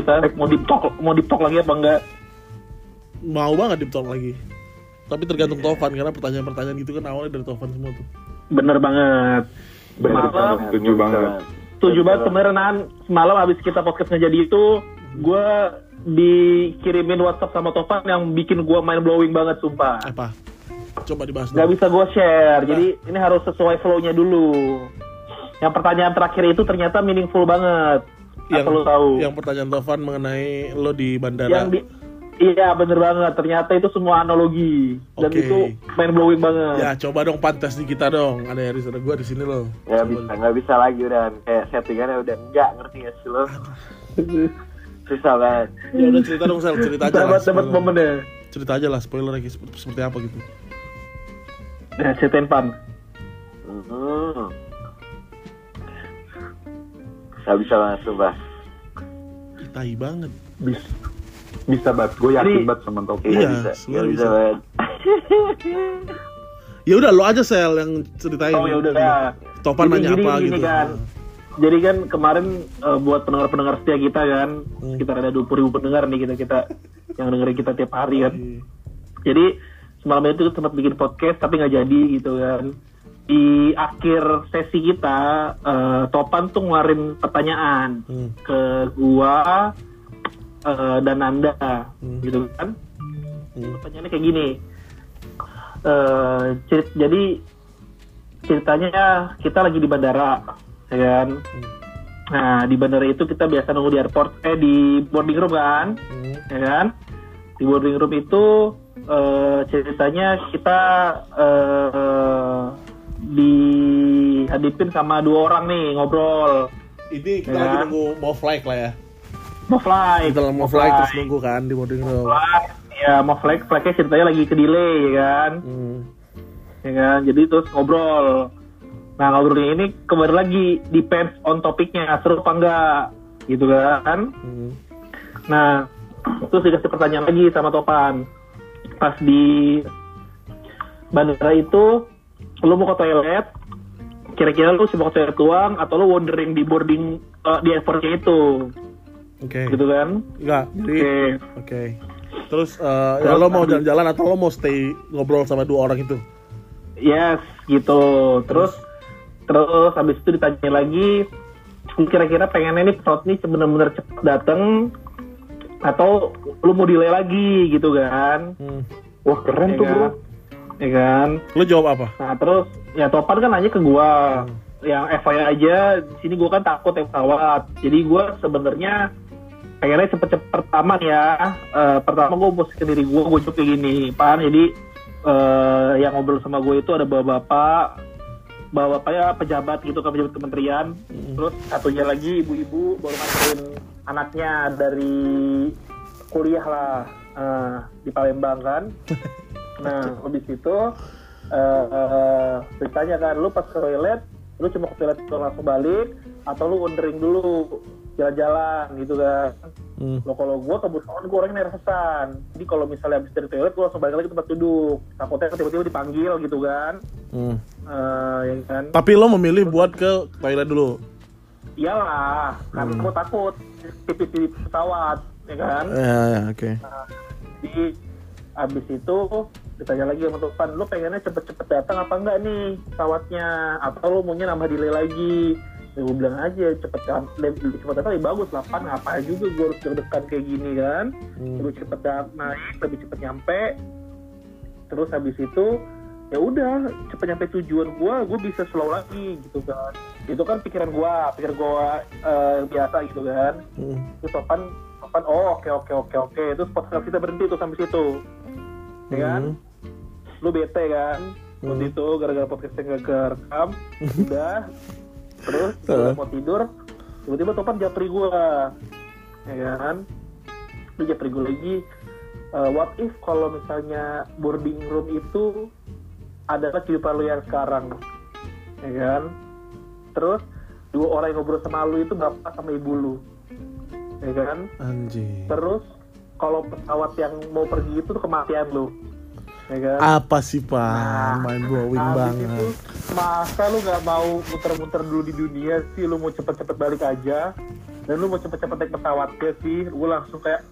kita mau deep talk lagi apa enggak? Mau banget deep talk lagi. Tapi tergantung Tovan, karena pertanyaan-pertanyaan gitu kan awalnya dari Tovan semua tuh. Bener banget. Setuju banget. Setuju banget kemarin semalam abis kita podcast ngejadi itu, gue dikirimin WhatsApp sama Tovan yang bikin gue mind blowing banget sumpah. Apa? Coba dibahas. Gak bisa gue share, jadi ini harus sesuai flow-nya dulu. Yang pertanyaan terakhir itu ternyata meaningful banget. Asal lo tahu. Yang pertanyaan Tovan mengenai lo di bandara. Iya bener banget, ternyata itu semua analogi dan itu mind blowing banget. Ya coba dong pantas di kita dong, ada Yaris, ada gue di sini loh. Ya nggak bisa lagi udah kayak settingannya udah nggak ngerti ya sih lo. Susah banget. Ya udah cerita dong Sel, cerita aja lah. Dapat momennya. Cerita aja lah spoiler lagi seperti apa gitu. Ya ceritain Pan. Nggak bisa langsung bah. Tai banget. Bisa banget, gue yakin banget sama Topi. Iya, bisa banget. Ya udah lo aja Sel yang ceritain. Oh ya udah. Topan nanya apa gitu. Kan. Jadi kan kemarin buat pendengar-pendengar setia kita kan, sekitar ada 20.000 pendengar nih kita yang dengerin kita tiap hari kan. Jadi semalam itu sempat bikin podcast tapi nggak jadi gitu kan. Di akhir sesi kita, Topan tuh ngeluarin pertanyaan ke gua dan Nanda, gitu kan? Pertanyaannya kayak gini. Jadi ceritanya kita lagi di bandara, ya kan? Nah di bandara itu kita biasa nunggu di airport, di boarding room kan, ya kan? Di boarding room itu ceritanya kita dihadapin sama 2 orang nih ngobrol. Ini kita lagi nunggu mau flight lah ya. Mau flight terus nunggu kan di boarding room. Ya mau flightnya ceritanya lagi ke delay ya kan. Ya kan, jadi terus ngobrol. Nah ngobrolnya ini kembali lagi depends on topiknya, seru apa enggak gitu kan. Nah terus dikasih pertanyaan lagi sama Topan. Pas di bandara itu lu mau ke toilet, kira-kira lu mau ke toilet doang atau lu wandering di boarding di airportnya itu? Oke. Gitu kan? Enggak. Oke. Terus ya lo mau jalan-jalan atau lo mau stay ngobrol sama 2 orang itu? Yes, gitu. Terus habis itu ditanya lagi, kira-kira pengennya nih pesawat ini benar-benar cepat datang atau lu mau delay lagi gitu kan? Wah keren tuh bro. Ya kan? Lu jawab apa? Nah terus ya Topan kan nanya ke gua. Yang FYI aja di sini gua kan takut yang pesawat. Jadi gua sebenarnya pengennya cepet-cepet aman ya. Pertama gue posisi diri gue jawab kayak gini, Pan. Jadi yang ngobrol sama gue itu ada bapak-bapaknya pejabat gitu kan, pejabat kementerian. Terus satunya lagi ibu-ibu baru nganterin anaknya dari kuliah lah di Palembang kan. Nah habis itu ditanya kan, lu pas ke toilet, lu cuma ke toilet langsung balik atau lu wandering dulu jalan-jalan gitu kan. Lo kalau gue kebetulan gue orangnya nervousan, jadi kalau misalnya habis dari toilet gue langsung balik lagi ke tempat duduk, takutnya tiba-tiba dipanggil gitu kan. Ya kan. Tapi lo memilih buat ke toilet dulu? Iyalah, karena gue takut tipis di pesawat, ya kan. Oke. Jadi abis itu ditanya lagi sama Topan, lo pengennya cepet-cepet datang apa enggak nih pesawatnya, atau lo maunya nambah delay lagi? Ya gue bilang aja cepet datang lebih bagus lah, Pan ngapain juga gue harus deg-degan kayak gini kan. Lebih cepet naik, lebih cepet nyampe. Terus habis itu ya udah cepet nyampe tujuan gue bisa slow lagi gitu kan. Itu kan pikir gue biasa gitu kan. Terus Topan oke. Terus podcast kita berhenti tuh sampai situ, ya kan. Lu bete kan waktu itu gara-gara podcastnya gak kerekam. Udah. Terus mau tidur, tiba-tiba Topan japri gue, ya kan? Dia japri gue lagi. What if kalau misalnya boarding room itu adalah kehidupan lu yang sekarang, ya kan? Terus 2 orang yang ngobrol sama lu itu bapak sama ibu lu, ya kan? Anjir. Terus kalau pesawat yang mau pergi itu tuh kematian lu, ya kan? Apa sih Pak? Main blowing banget. Itu, masa lu nggak mau muter-muter dulu di dunia sih? Lu mau cepet-cepet balik aja? dan lu mau cepet-cepet naik pesawat ya sih, gue langsung kayak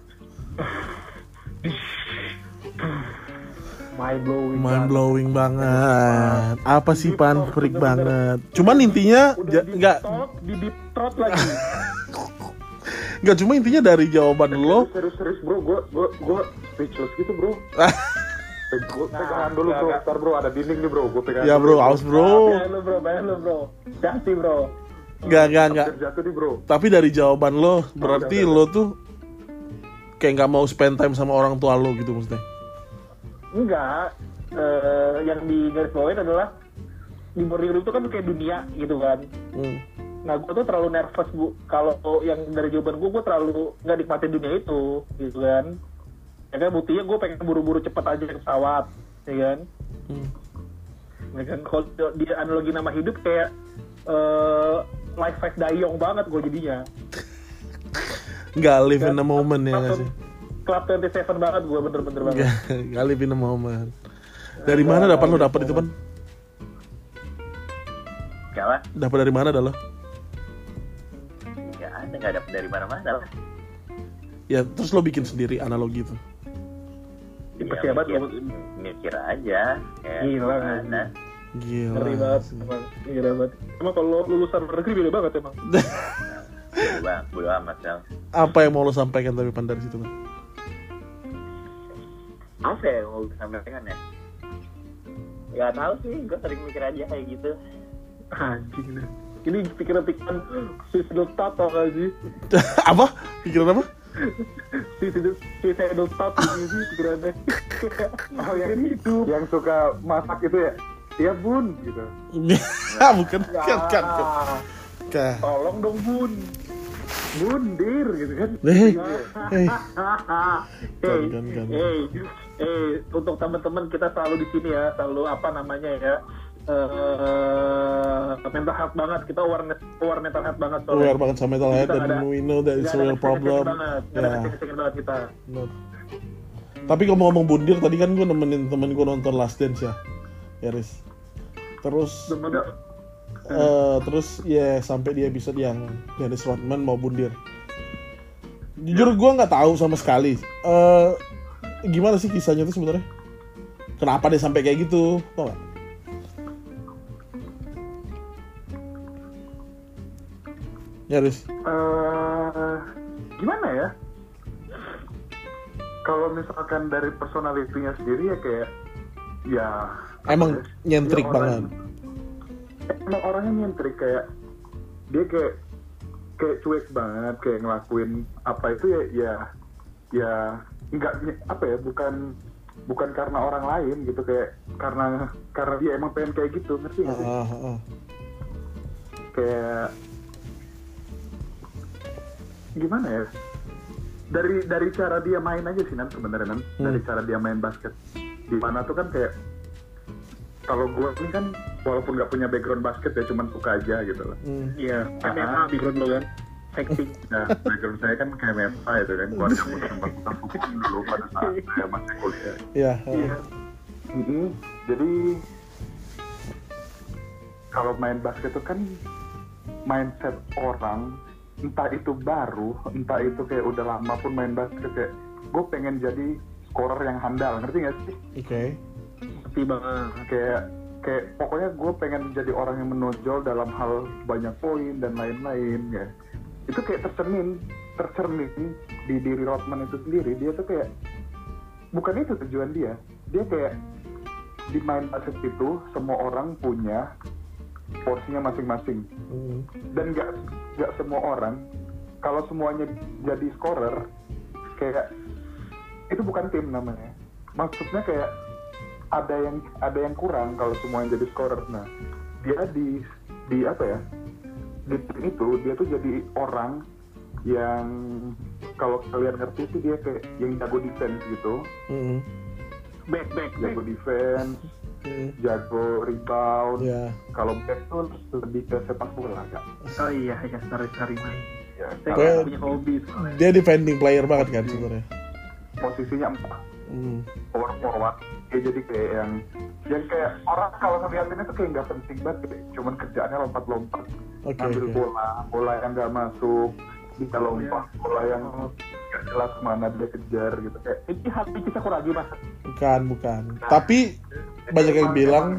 mind blowing banget. Apa sih Pan? Freak banget. Cuman intinya nggak di deep throat lagi. Nggak, cuma intinya dari jawaban lo. Serius bro, gue speechless gitu bro. Gue pegangan dulu bro, ntar bro ada dinding nih bro, gue pegangan. Ya bro, aus bro. Bayar lo bro. Jati bro. Nggak. Jatuh nih bro. Tapi dari jawaban lo, berarti lo tuh kayak nggak mau spend time sama orang tua lo gitu maksudnya. Enggak, yang di garis bawain adalah di boarding room itu kan kayak dunia gitu kan. Nah gue tuh terlalu nervous bu, kalau yang dari jawaban gue terlalu nggak nikmatin dunia itu gitu kan. Ya kan buktinya gue pengen buru-buru cepet aja ke pesawat, ya kan. Ya kan kalau di analogi nama hidup kayak life fight dayong banget gue jadinya. Nggak live in the moment ya nggak sih? Club 27 banget gue, bener-bener banget. Nggak live in the moment. Dari mana dapat itu Pan? Kalah? Dapat dari mana dah lo? Nggak dapet dari mana-mana lah. Ya terus lo bikin sendiri analogi itu. Ya, mikir aja. Gila kan? Ngeri banget, emang. Gila banget. Emang kalau lulusan luar negeri beda banget emang. Bodo amat Sel. Apa yang mau lo sampaikan tapi Pan dari situ Pan? Apa ya mau disampaikan ya? Gak tahu sih, gue sering mikir aja kayak gitu. Anjing nih. Ini pikiran-pikiran suicidal thought tau gak sih? Apa? Pikiran apa? Suicidal thought sih pikirannya. Oh yang itu, yang suka masak itu ya? Iya bun, gitu. Bukan. Tolong dong bun. Bundir gitu kan. Untuk teman-teman kita selalu di sini ya, selalu apa namanya ya, mental health banget, kita aware mental health banget soalnya. Aware banget sama mental health dan we know that it's a real problem. Second banget kita. Tapi ngomong-ngomong bundir, tadi kan gue nemenin temen gue nonton Last Dance ya, Riz. Terus ya sampai di episode yang Dennis Rodman mau bundir. Jujur gue nggak tahu sama sekali. Gimana sih kisahnya tuh sebenarnya? Kenapa dia sampai kayak gitu? Tau nggak? Ya Riz. Gimana ya? Kalau misalkan dari personality-nya sendiri ya kayak ya emang nyentrik banget. Emang orangnya nyentrik, kayak dia kayak cuek banget, kayak ngelakuin apa itu ya enggak apa ya, bukan karena orang lain gitu, kayak karena dia emang pengen kayak gitu, ngerti nggak sih? Kayak gimana ya, dari cara dia main aja sih sebenarnya dari cara dia main basket di mana tuh kan kayak, kalau gue ini kan walaupun nggak punya background basket ya cuman suka aja gitu loh. Iya, MMA background lo kan, acting. Nah, background saya kan kayak MMA itu kan, keluarga gue sempat hukum dulu pada saat saya masih kuliah. Iya. Jadi kalau main basket itu kan mindset orang, entah itu baru, entah itu kayak udah lama pun main basket, kayak gue pengen jadi scorer yang handal, ngerti nggak sih? Oke. Ngerti banget. Kayak pokoknya gue pengen jadi orang yang menonjol dalam hal banyak poin dan lain-lain ya. Itu kayak tercermin di diri Rodman itu sendiri. Dia tuh kayak bukan itu tujuan dia. Dia kayak di main basket itu semua orang punya porsinya masing-masing. Dan nggak semua orang, kalau semuanya jadi scorer, kayak itu bukan tim namanya. Maksudnya kayak ada yang kurang kalau semuanya jadi scorer. Nah, dia di apa ya? Di tim itu dia tuh jadi orang yang kalau kalian ngerti itu dia kayak yang jago defense gitu. Jago defense, jago rebound. Kalau back tuh lebih ke sepak bola kan. Oh iya, cari main. Ya, saya punya hobi soalnya. Dia defending player banget kan sebenarnya. Posisinya 4. Power forward. Dia jadi kayak yang kayak orang kalau ngeliatinnya tuh kayak nggak penting banget, kayak cuman kerjaannya lompat-lompat, ngambil bola yang nggak masuk, bisa lompat bola yang nggak jelas mana dia kejar gitu kayak. Ini Hanabichi Sakuragi mas. Bukan. Tapi banyak yang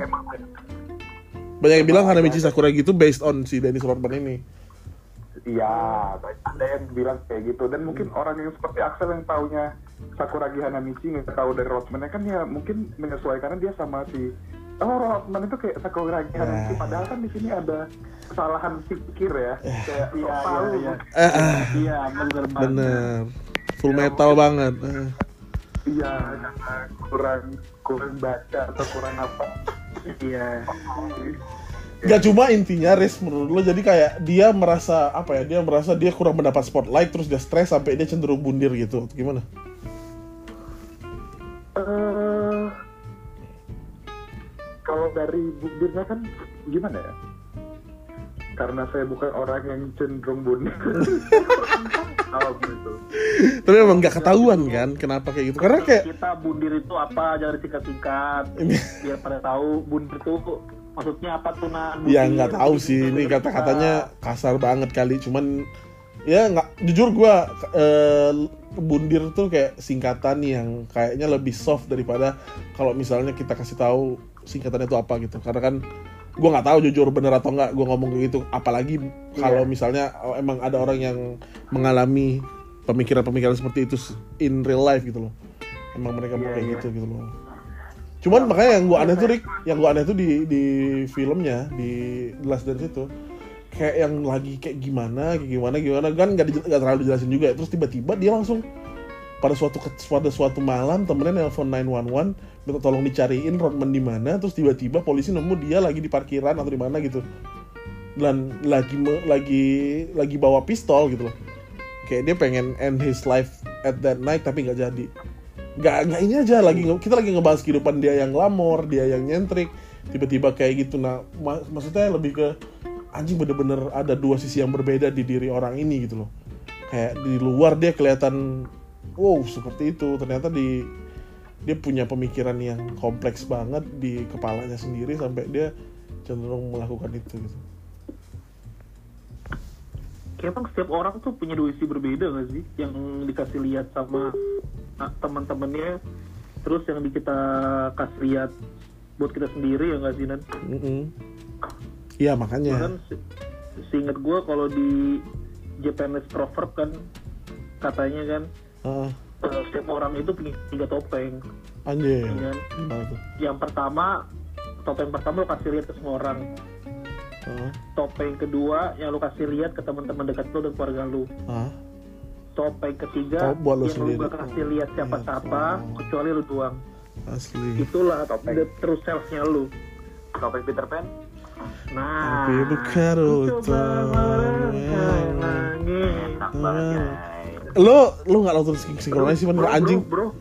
bilang Hanabichi Sakuragi itu based on si Dennis Rodman ini. Iya, ada yang bilang kayak gitu. Dan mungkin orang yang seperti Axel yang taunya Sakuragi Hanamichi nggak tahu dari Rodman kan ya mungkin menyesuaikannya dia sama si Rodman itu kayak Sakuragi Hanamichi. Padahal kan di sini ada kesalahan pikir ya. Kayak Iya, bener. Full metal banget. Iya, kurang baca atau kurang apa. Iya. Gak cuma intinya Riz menurut lo jadi kayak dia merasa apa ya, dia merasa dia kurang mendapat spotlight terus dia stres sampai dia cenderung bundir gitu, gimana? Kalau dari bundirnya kan gimana ya? Karena saya bukan orang yang cenderung bundir. Kalau gitu. Tapi emang gak ketahuan kan kenapa kayak gitu, karena kayak kita bundir itu apa, jangan disingkat-singkat biar pada tahu bundir itu maksudnya apa tuh ya nggak tahu sih, ini kata-katanya kasar banget kali, cuman ya nggak, jujur gue bundir tuh kayak singkatan yang kayaknya lebih soft daripada kalau misalnya kita kasih tahu singkatannya itu apa gitu, karena kan gue nggak tahu jujur bener atau nggak gue ngomong kayak gitu, apalagi kalau misalnya emang ada orang yang mengalami pemikiran-pemikiran seperti itu in real life gitu loh, emang mereka mau kayak gitu loh. Cuman makanya yang gue aneh tuh Rick, yang gue aneh tuh di filmnya, di The Last Dance itu kayak yang lagi kayak gimana kan gak terlalu dijelasin juga ya. Terus tiba-tiba dia langsung pada suatu malam temennya nelpon 911 minta tolong dicariin Rodman di mana, terus tiba-tiba polisi nemu dia lagi di parkiran atau di mana gitu, dan lagi bawa pistol gitu loh, kayak dia pengen end his life at that night tapi nggak jadi. Nggak ini aja, kita lagi ngebahas kehidupan dia yang glamor, dia yang nyentrik, tiba-tiba kayak gitu. Nah maksudnya lebih ke anjing, bener-bener ada dua sisi yang berbeda di diri orang ini gitu loh. Kayak di luar dia kelihatan wow seperti itu, ternyata dia punya pemikiran yang kompleks banget di kepalanya sendiri sampai dia cenderung melakukan itu gitu. Kayak emang setiap orang tuh punya dua isi berbeda nggak sih, yang dikasih lihat sama teman-temannya, terus yang kita kasih lihat buat kita sendiri ya nggak sih Nan? Iya makanya. Bahkan seingat gue kalau di Japanese proverb kan katanya kan setiap orang itu punya 3 topeng. Anjir. Ya kan? Yang pertama, topeng pertama lo kasih lihat ke semua orang. Topeng kedua yang lo kasih lihat ke teman-teman dekat lo dan keluarga lo. Topeng ketiga yang lu gak kasih lihat siapa-siapa kecuali lu doang. Asli. Itulah the true self-nya lu. Topeng Peter Pan. Nah, enak banget. Lo nggak nonton sinkronis sih bener anjing. Bro.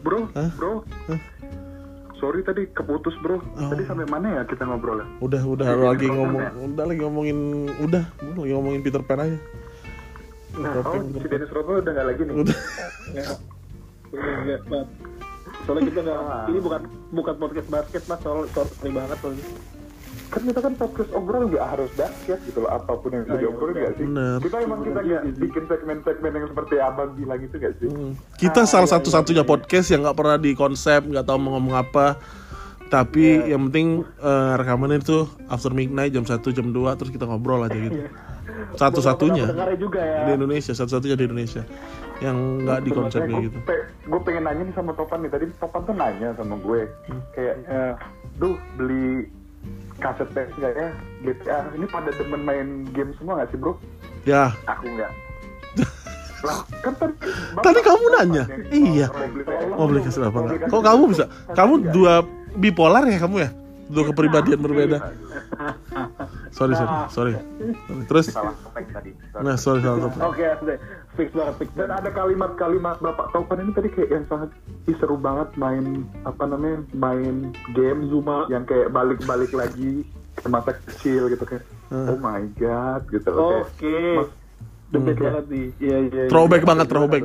Sorry tadi keputus bro. Tadi sampai mana ya kita ngobrol ya? Udah lagi ngomongin Peter Pan aja. Nah, si Dennis Rodman udah nggak lagi nih. Udah. Enggak. Soalnya kita nggak. Ini bukan podcast basket mas. Sorry banget soalnya. Kan kita kan podcast obrolan nggak harus basket gitu loh. Apapun yang bisa diobrolin nggak sih? Bener. Kita nggak bikin segmen-segmen yang seperti abang bilang itu nggak sih? Kita salah satu-satunya podcast yang nggak pernah di konsep, nggak tahu mau ngomong apa. Tapi yang penting rekamannya itu after midnight jam 1 jam 2 terus kita ngobrol aja gitu. Satu-satunya di Indonesia, satu-satunya di Indonesia yang nggak di konsep kayak gitu. Gue pengen nanya nih sama Topan nih, tadi Topan tuh nanya sama gue kayak, beli kaset PS nggak ya GTA? Ini pada demen main game semua nggak sih bro? Ya. Aku nggak. Lah kan tadi kamu nanya, iya. Mau beli kaset apa nggak? Kok kamu bisa? Kamu dua bipolar ya kamu ya? Dua kepribadian berbeda. Sorry. Terus? Salah topeng tadi. Nah, sorry salah topeng. Oke, fix banget. Dan ada kalimat-kalimat Bapak Topan ini tadi kayak yang sangat seru banget main game Zuma yang kayak balik lagi ke masa kecil gitu kayak. Oh my god gitu. Oke. Debek banget nih. Iya. Throwback banget. Throwback.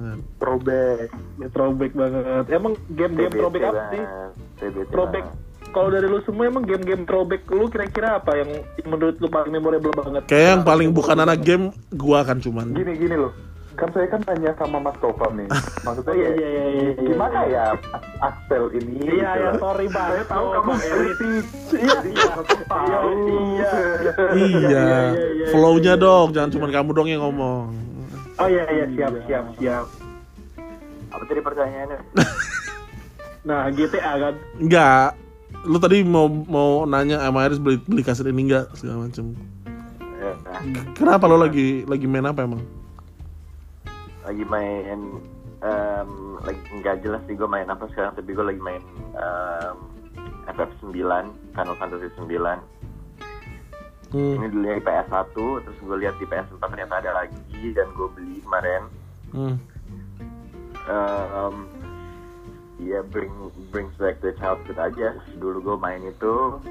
Ya throwback banget. Emang game throwback apa sih? Throwback kalau dari lu semua emang game-game throwback lu kira-kira apa yang menurut lu paling memorable banget? Kayak yang paling bukan anak game, gua kan cuman. Gini loh. Kan saya kan tanya sama Mas Topan nih. Maksudnya Iya. gimana ya Axel ini? Iya, gitu. ya, sorry banget. Saya tahu kamu kritik. Iya. Iya. Flow-nya dong, jangan cuman kamu dong yang ngomong. Oh iya, siap. Apa tadi pertanyaannya? Nah, GTA kan. Enggak. Lu tadi mau nanya sama Iris beli kaset ini enggak segala macem. Ya, Kenapa lo lagi main apa emang? lagi main lagi nggak jelas sih gue main apa sekarang, tapi gue lagi main FF9, Final Fantasy 9. Ini dulu di PS1, terus gue lihat di PS4 ternyata ada lagi dan gue beli kemarin. Ya brings back the childhood aja. Dulu gue main itu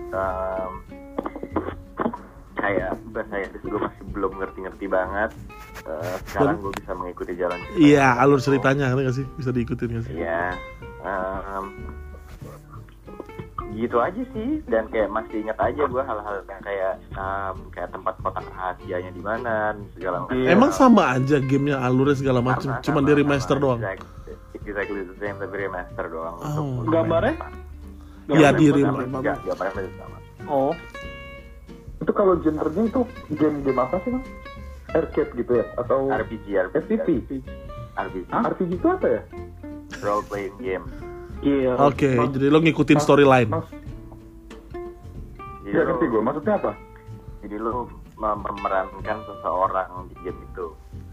kayak bahasa Inggris gue masih belum ngerti banget. Sekarang gue bisa mengikuti jalan cerita. Iya, alur ceritanya ngerti nggak sih? Bisa diikutin nggak sih? Iya, gitu aja sih. Dan kayak masih ingat aja gue hal-hal yang kayak tempat kotak rahasianya di mana, segala macam. Emang sama aja gamenya, alurnya segala macam, cuman di remaster doang. Exactly the same, tapi remaster doang. Oh. Gambarnya? Iya di Gambarnya masih sama. Oh. Itu kalau genrenya itu game apa sih, Bang? Arcade gitu ya? Atau RPG. FPV? RPG. RPG itu apa ya? Role playing game. Iya. Oke, jadi lo ngikutin storyline. Jadi Ya ngerti gue, maksudnya apa? Jadi lo memerankan seseorang di game itu.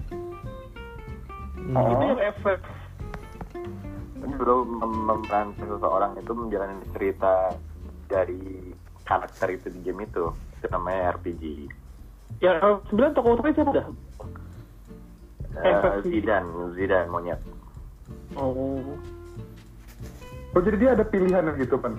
Itu yang efek. Jadi lo memerankan seseorang itu menjalani cerita dari karakter itu di game itu. Itu namanya RPG. Ya, sebenarnya tokoh utamanya siapa dah? Zidane monyet. Oh. Oh jadi dia ada pilihan gitu kan?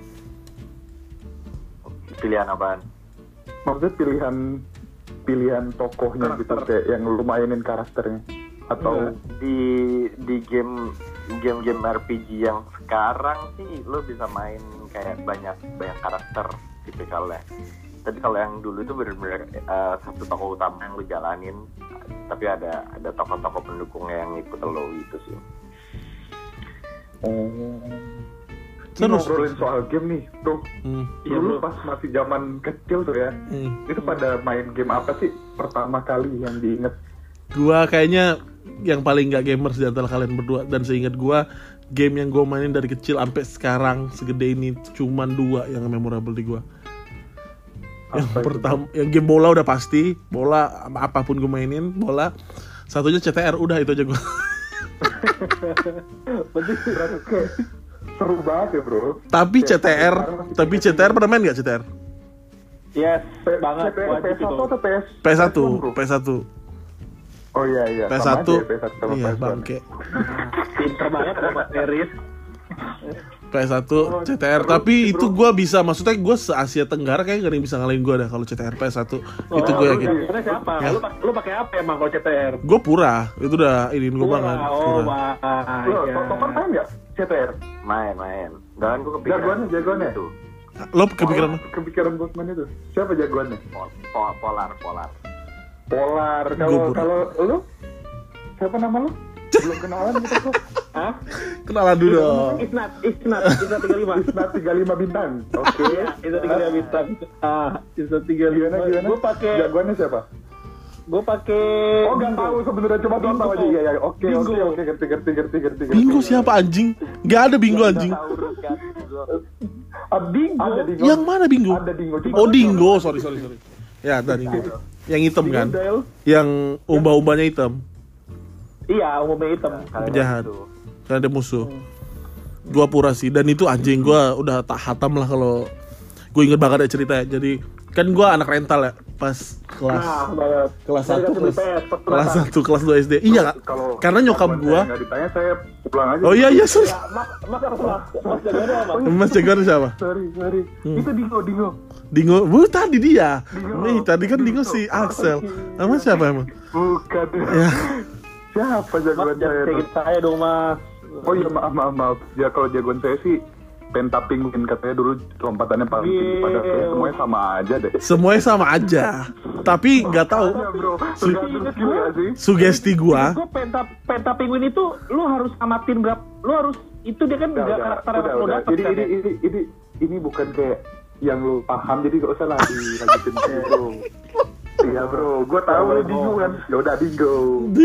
Pilihan apaan? Maksudnya pilihan tokohnya gitu, kayak yang lu mainin karakternya atau di game RPG yang sekarang sih lo bisa main kayak banyak karakter tipikalnya. Tapi kalau yang dulu itu benar-benar satu tokoh utama yang lo jalanin, tapi ada tokoh-tokoh pendukungnya yang ikut lo gitu sih. Terus ngobrolin soal game nih tuh. Dulu pas masih zaman kecil tuh ya, itu pada main game apa sih pertama kali yang diinget? gua kayaknya yang paling gak gamers di antara kalian berdua, dan seingat gua game yang gua mainin dari kecil sampai sekarang segede ini cuman 2 yang memorable di gua. Yang pertama, yang game bola udah pasti, bola apapun gue mainin, bola. Satunya CTR, udah itu aja gue. Seru banget ya bro. Tapi CTR pernah main nggak CTR? Yes, banget. PS1 atau PS1. Oh iya. PS1. Sama Iya PS1. bangke. Pinter banget sama Mas Eris. PS1 CTR, tapi itu gue bisa, maksudnya gue se-Asia Tenggara kayak gak ada yang bisa ngalahin gue dah kalau CTR PS1. Itu gue yakin. Karena siapa? Ya. Lu pakai apa emang kalau CTR? Gue pura, itu udah iniin gue banget. Oh, Pura. Topan main nggak CTR? Main. Dan gue kepikiran Jagoannya? itu. Lo kepikiran? Kepikiran Bosman itu. Siapa jagoannya? Polar. Kalau lu siapa nama lu? Belum kenalan gitu kok. Hah? Kenalan dulu dong. Isnat 35. Isnat 35 bintang. Oke. Itu 35 bintang. Isnat 35. Gimana? Gue pakai. Jagoannya siapa? Gue pakai. Oh nggak tahu sebenarnya, coba tahu aja. Iya. Oke. Ngerti. Bingo siapa anjing? Gak ada Bingo anjing. Bingo. Ada Dingo. Yang mana Bingo? Ada Dingo. Oh Dingo, sorry. Ya ada Dingo. Yang hitam kan? Yang umba-umbanya hitam. Iya, umumnya hitam. Penjahat. Karena ada musuh. Gua pura sih, dan itu anjing gua udah tak hatam lah kalau gue inget banget ya cerita ya. Jadi kan gua anak rental ya pas kelas 1 kelas 2 SD. Iya, karena nyokap gua. Enggak ditanya, saya pulang aja. Oh iya sorry. Mas Jagoan siapa? Sorry. Itu Dingo. Tadi dia. Nih, tadi kan Dingo si Axel. Sama siapa emang? Bukan. Ya. Siapa jagoan saya? Saya dong, Mas. Oh iya, maaf. Ya kalau jagoan saya sih Penta Penguin katanya dulu lompatannya paling tinggi, padahal kayak semuanya sama aja deh. Semuanya sama aja. Tapi nggak tahu. Iya bro, tergantung skill ya sih. Sugesti gua. Gue penta penguin itu lu harus amatin berapa, lu harus itu dia kan nggak karakter yang lu dapat kan. Ini bukan kayak yang lu paham, jadi gak usah lah dilanjutin bro. Iya bro, gue tahu lu bingung kan. Ya udah bingo.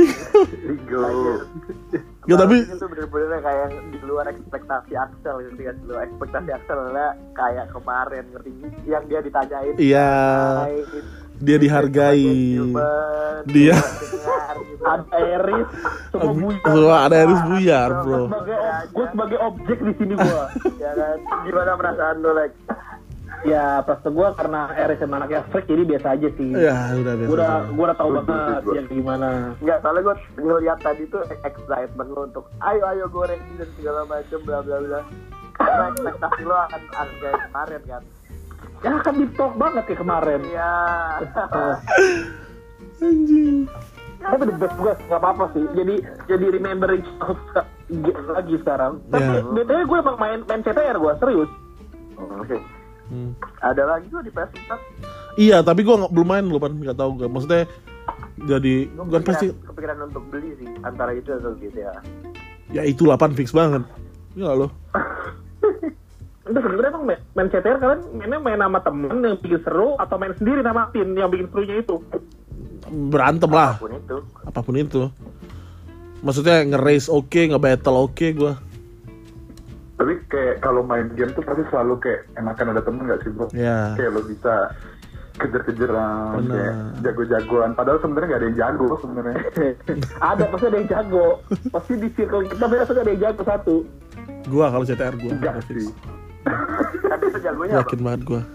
Ya tapi itu bener-bener kayak di luar ekspektasi Axel gitu kan. Di luar ekspektasi Axel lah kayak kemarin ngerti yang dia ditanyain. iya, dia dihargai. Dia Ada Eris, semua buyar. semua ada Eris buyar, bro. Gue sebagai objek di sini gue. Ya kan, gimana perasaan lu Lex? Ya perasaan gue karena Eris sama anaknya freak jadi biasa aja sih. Ya udah biasa. Gue udah tahu banget yang gimana. Enggak, soalnya gue ngeliat tadi tuh excitement lu untuk ayo goreng dan segala macam bla bla bla. Karena ekspektasi lo akan kayak kemarin kan. Ya kan di talk banget kayak kemarin. Iya. Anjing. Tapi the best gue nggak apa-apa sih. Jadi remembering lagi sekarang. Tapi Ya. bedanya gue emang main CTR gue serius. Oke. Ada lagi tuh di PS4. Iya, tapi gua belum main loh, Pan. Enggak tahu gua. Maksudnya jadi bukan pasti Kepikiran untuk beli sih antara itu atau GTA. ya itulah Pan, fix banget. Ya loh. Udah sebenarnya emang main CTR kalian mainnya main sama temen yang bikin seru atau main sendiri sama tim yang bikin serunya itu? Berantem lah. Apapun itu. Maksudnya nge-race oke, nge-battle oke gua. Tapi kayak kalau main game tuh pasti selalu kayak enakan ada temen gak sih bro? Ya. Kayak lo bisa kejar-kejaran, Bener. kayak jago-jagoan. Padahal sebenarnya gak ada yang jago sebenarnya. Pasti ada yang jago. Pasti di circle kita biasanya ada yang jago satu. Gua kalau CTR gua Enggak udah fix. sih. Tapi itu jagonya apa? Yakin banget gua.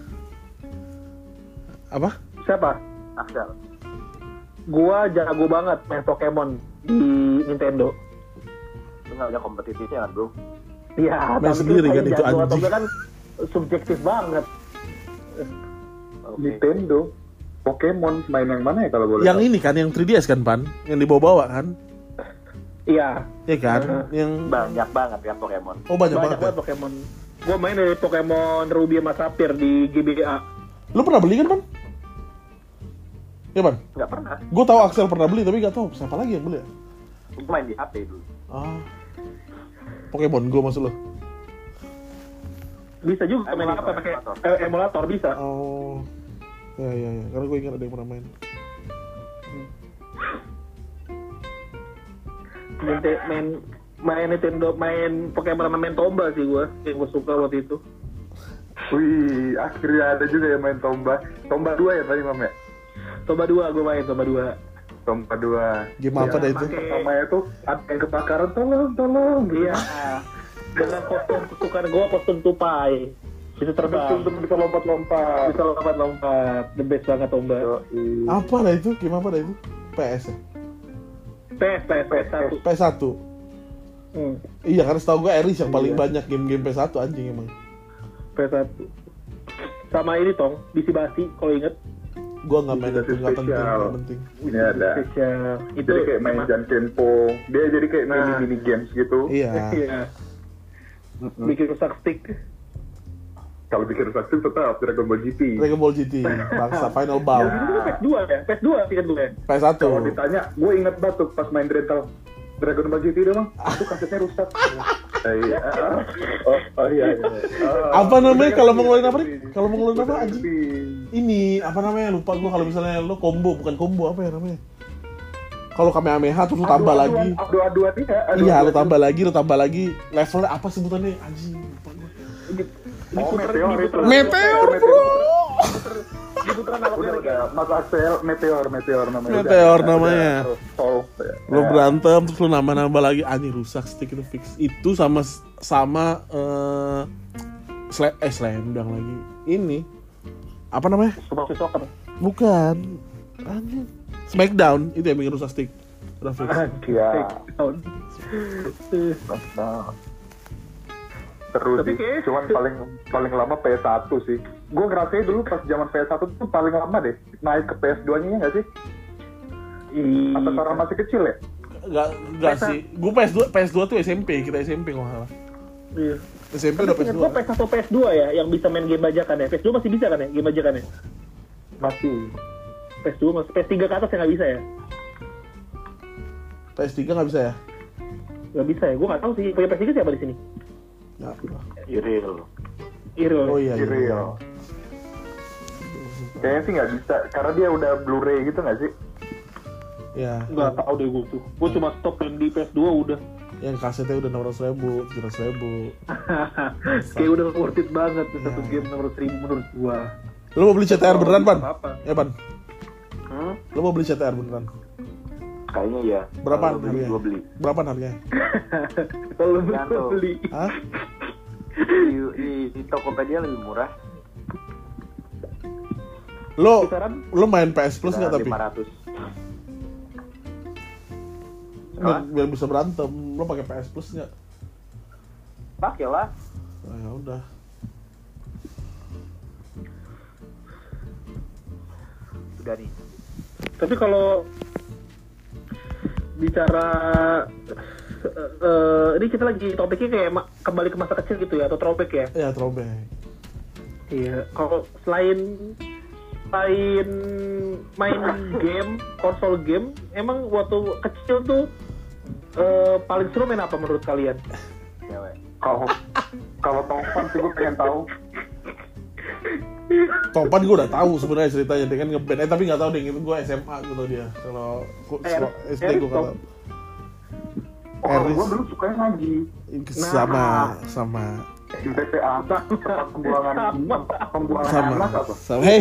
Apa? Siapa? Axel. Gua jago banget main Pokemon di Nintendo. Itu nggak ada kompetitifnya kan bro? Iya, Main sendiri kan, itu jago atau anjing. enggak kan subjektif banget. Oke. Nintendo, Pokemon, main yang mana ya kalau boleh Yang tahu? ini kan yang 3DS kan, Pan? Yang dibawa-bawa kan? Iya, Iya kan? Yang Banyak banget kan Pokemon. oh banyak banyak banget. Ya? banget Pokemon. Gua main dari Pokemon Ruby sama Sapphire di GBA. Lu pernah beli kan, Pan? Ya, Pan? Nggak pernah. Gua tahu Axel pernah beli tapi nggak tahu siapa lagi yang beli ya. Gue main di HP dulu. Ah. Pokemon Go maksud lo? Bisa juga main apa pakai emulator bisa. Oh. Ya. Karena gue ingat ada yang pernah main. Main Nintendo, main Pokemon sama main Tomba sih gua. Yang gua suka waktu itu. Wih, akhirnya ada juga yang main Tomba. Tomba 2 ya tadi Mam ya? Tomba 2 gua main Tomba 2. Tomba 2. Game apa dah itu? Namanya tuh ada yang kebakaran, tolong. Iya. Dengan kostum kesukaan gua, kostum tupai. Bisa terbang. Bisa lompat-lompat. Bisa lompat-lompat. The best banget Tomba. Yoi. Apa dah itu? Game apa dah itu? PS ya? PS1. PS1. Iya, karena setahu gue Eris yang paling Iya. banyak game-game PS1 anjing emang. PS1. Sama ini Tong, Bisi Basi kalau inget. Gua nggak main itu, nggak penting, Spesial. nggak penting. Ini ada. Spesial. Itu Jadi kayak main Jankenpo. Dia jadi kayak mini games gitu. Iya. Iya. Bikin rusak stick. Kalau bikin rusak sih tetap Dragon Ball GT. Dragon Ball GT, bangsa Final Bout. Yang itu kan PS2 ya? PS2 sih kan gue ya? PS1. Kalau ditanya, gue inget banget tuh pas main rental Dragon Ball GT dong, itu kasetnya rusak. Iya. Oh iya. Apa namanya kalau mau ngeluarin apa nih? Kalau mau ngeluarin apa anjing? Ini apa namanya? Lupa gua kalau misalnya lo combo, bukan combo apa ya namanya? Kalau Kamehameha terus lu tambah lagi. Adu-aduan iya. Iya, lu tambah lagi levelnya apa sebutannya anjing? Lupa gua. Meteor, bro. Diputeran analognya lagi. Mas Axel, Meteor namanya. Meteor namanya. Solve. Lu berantem terus lu nambah lagi anjing rusak stick itu fix. Itu sama Slam Dunk lagi. Ini apa namanya? Super Soccer. Bukan. Anjing. Smackdown itu yang bikin rusak stick. Udah fix. Iya. Terus Tapi sih, kayak- cuman paling lama PS1 sih. Gue ngerasain dulu pas zaman PS1 tuh paling lama deh. Naik ke PS2-nya ya nggak sih? Atau karena masih kecil ya? Enggak sih. Gue PS2 tuh SMP, kita SMP kalau nggak salah. Iya. SMP Tapi udah ingat PS2. gua PS1 PS2 ya yang bisa main game bajakan ya. PS2 masih bisa kan ya game bajakan ya? Masih. PS2 masih, PS3 ke atas ya nggak bisa ya? PS3 nggak bisa ya? Nggak bisa ya, gue nggak tahu sih. Punya PS3 siapa di sini? Nggak. Iril. Iril. Oh iya. Real. Kayaknya sih nggak bisa, karena dia udah Blu-ray gitu nggak sih? Ya. Nggak tahu deh gue tuh. Gue cuma stop yang di PS2 udah. Yang kasetnya udah 600.000, 700.000. Kayak udah worth it banget tuh satu Iya. game nomor 1000 menurut gua. Lo mau beli CTR beneran, Pan? Apa? Ya, Pan. Hmm? Lo mau beli CTR beneran? Kayaknya ya. Berapaan Kalau beli, harganya? gua beli. Berapaan harganya? Kalau Gantung. beli. Hah? Di Tokopedia lebih murah. Lo Kisaran? main PS Plus nggak tapi? 500. Biar bisa berantem, lo pakai PS Plus nggak? Pakai lah. Nah, ya udah. Udah nih. Tapi kalau bicara ini kita lagi topiknya kayak kembali ke masa kecil gitu ya atau throwback ya? Ya, throwback. Iya. Kalau selain main game, konsol game, emang waktu kecil tuh paling seru main apa menurut kalian? Cewek. Kalau Topan sih gue pengen tahu. Topan gue udah tahu sebenarnya ceritanya dia kan ngeband, tapi nggak tahu deh itu gue SMA gitu dia. Kalau SD gue nggak tahu. Oh, kalau Eris. gue dulu sukanya ngaji. Sama Di TPA, tempat pembuangan anak apa? Hey.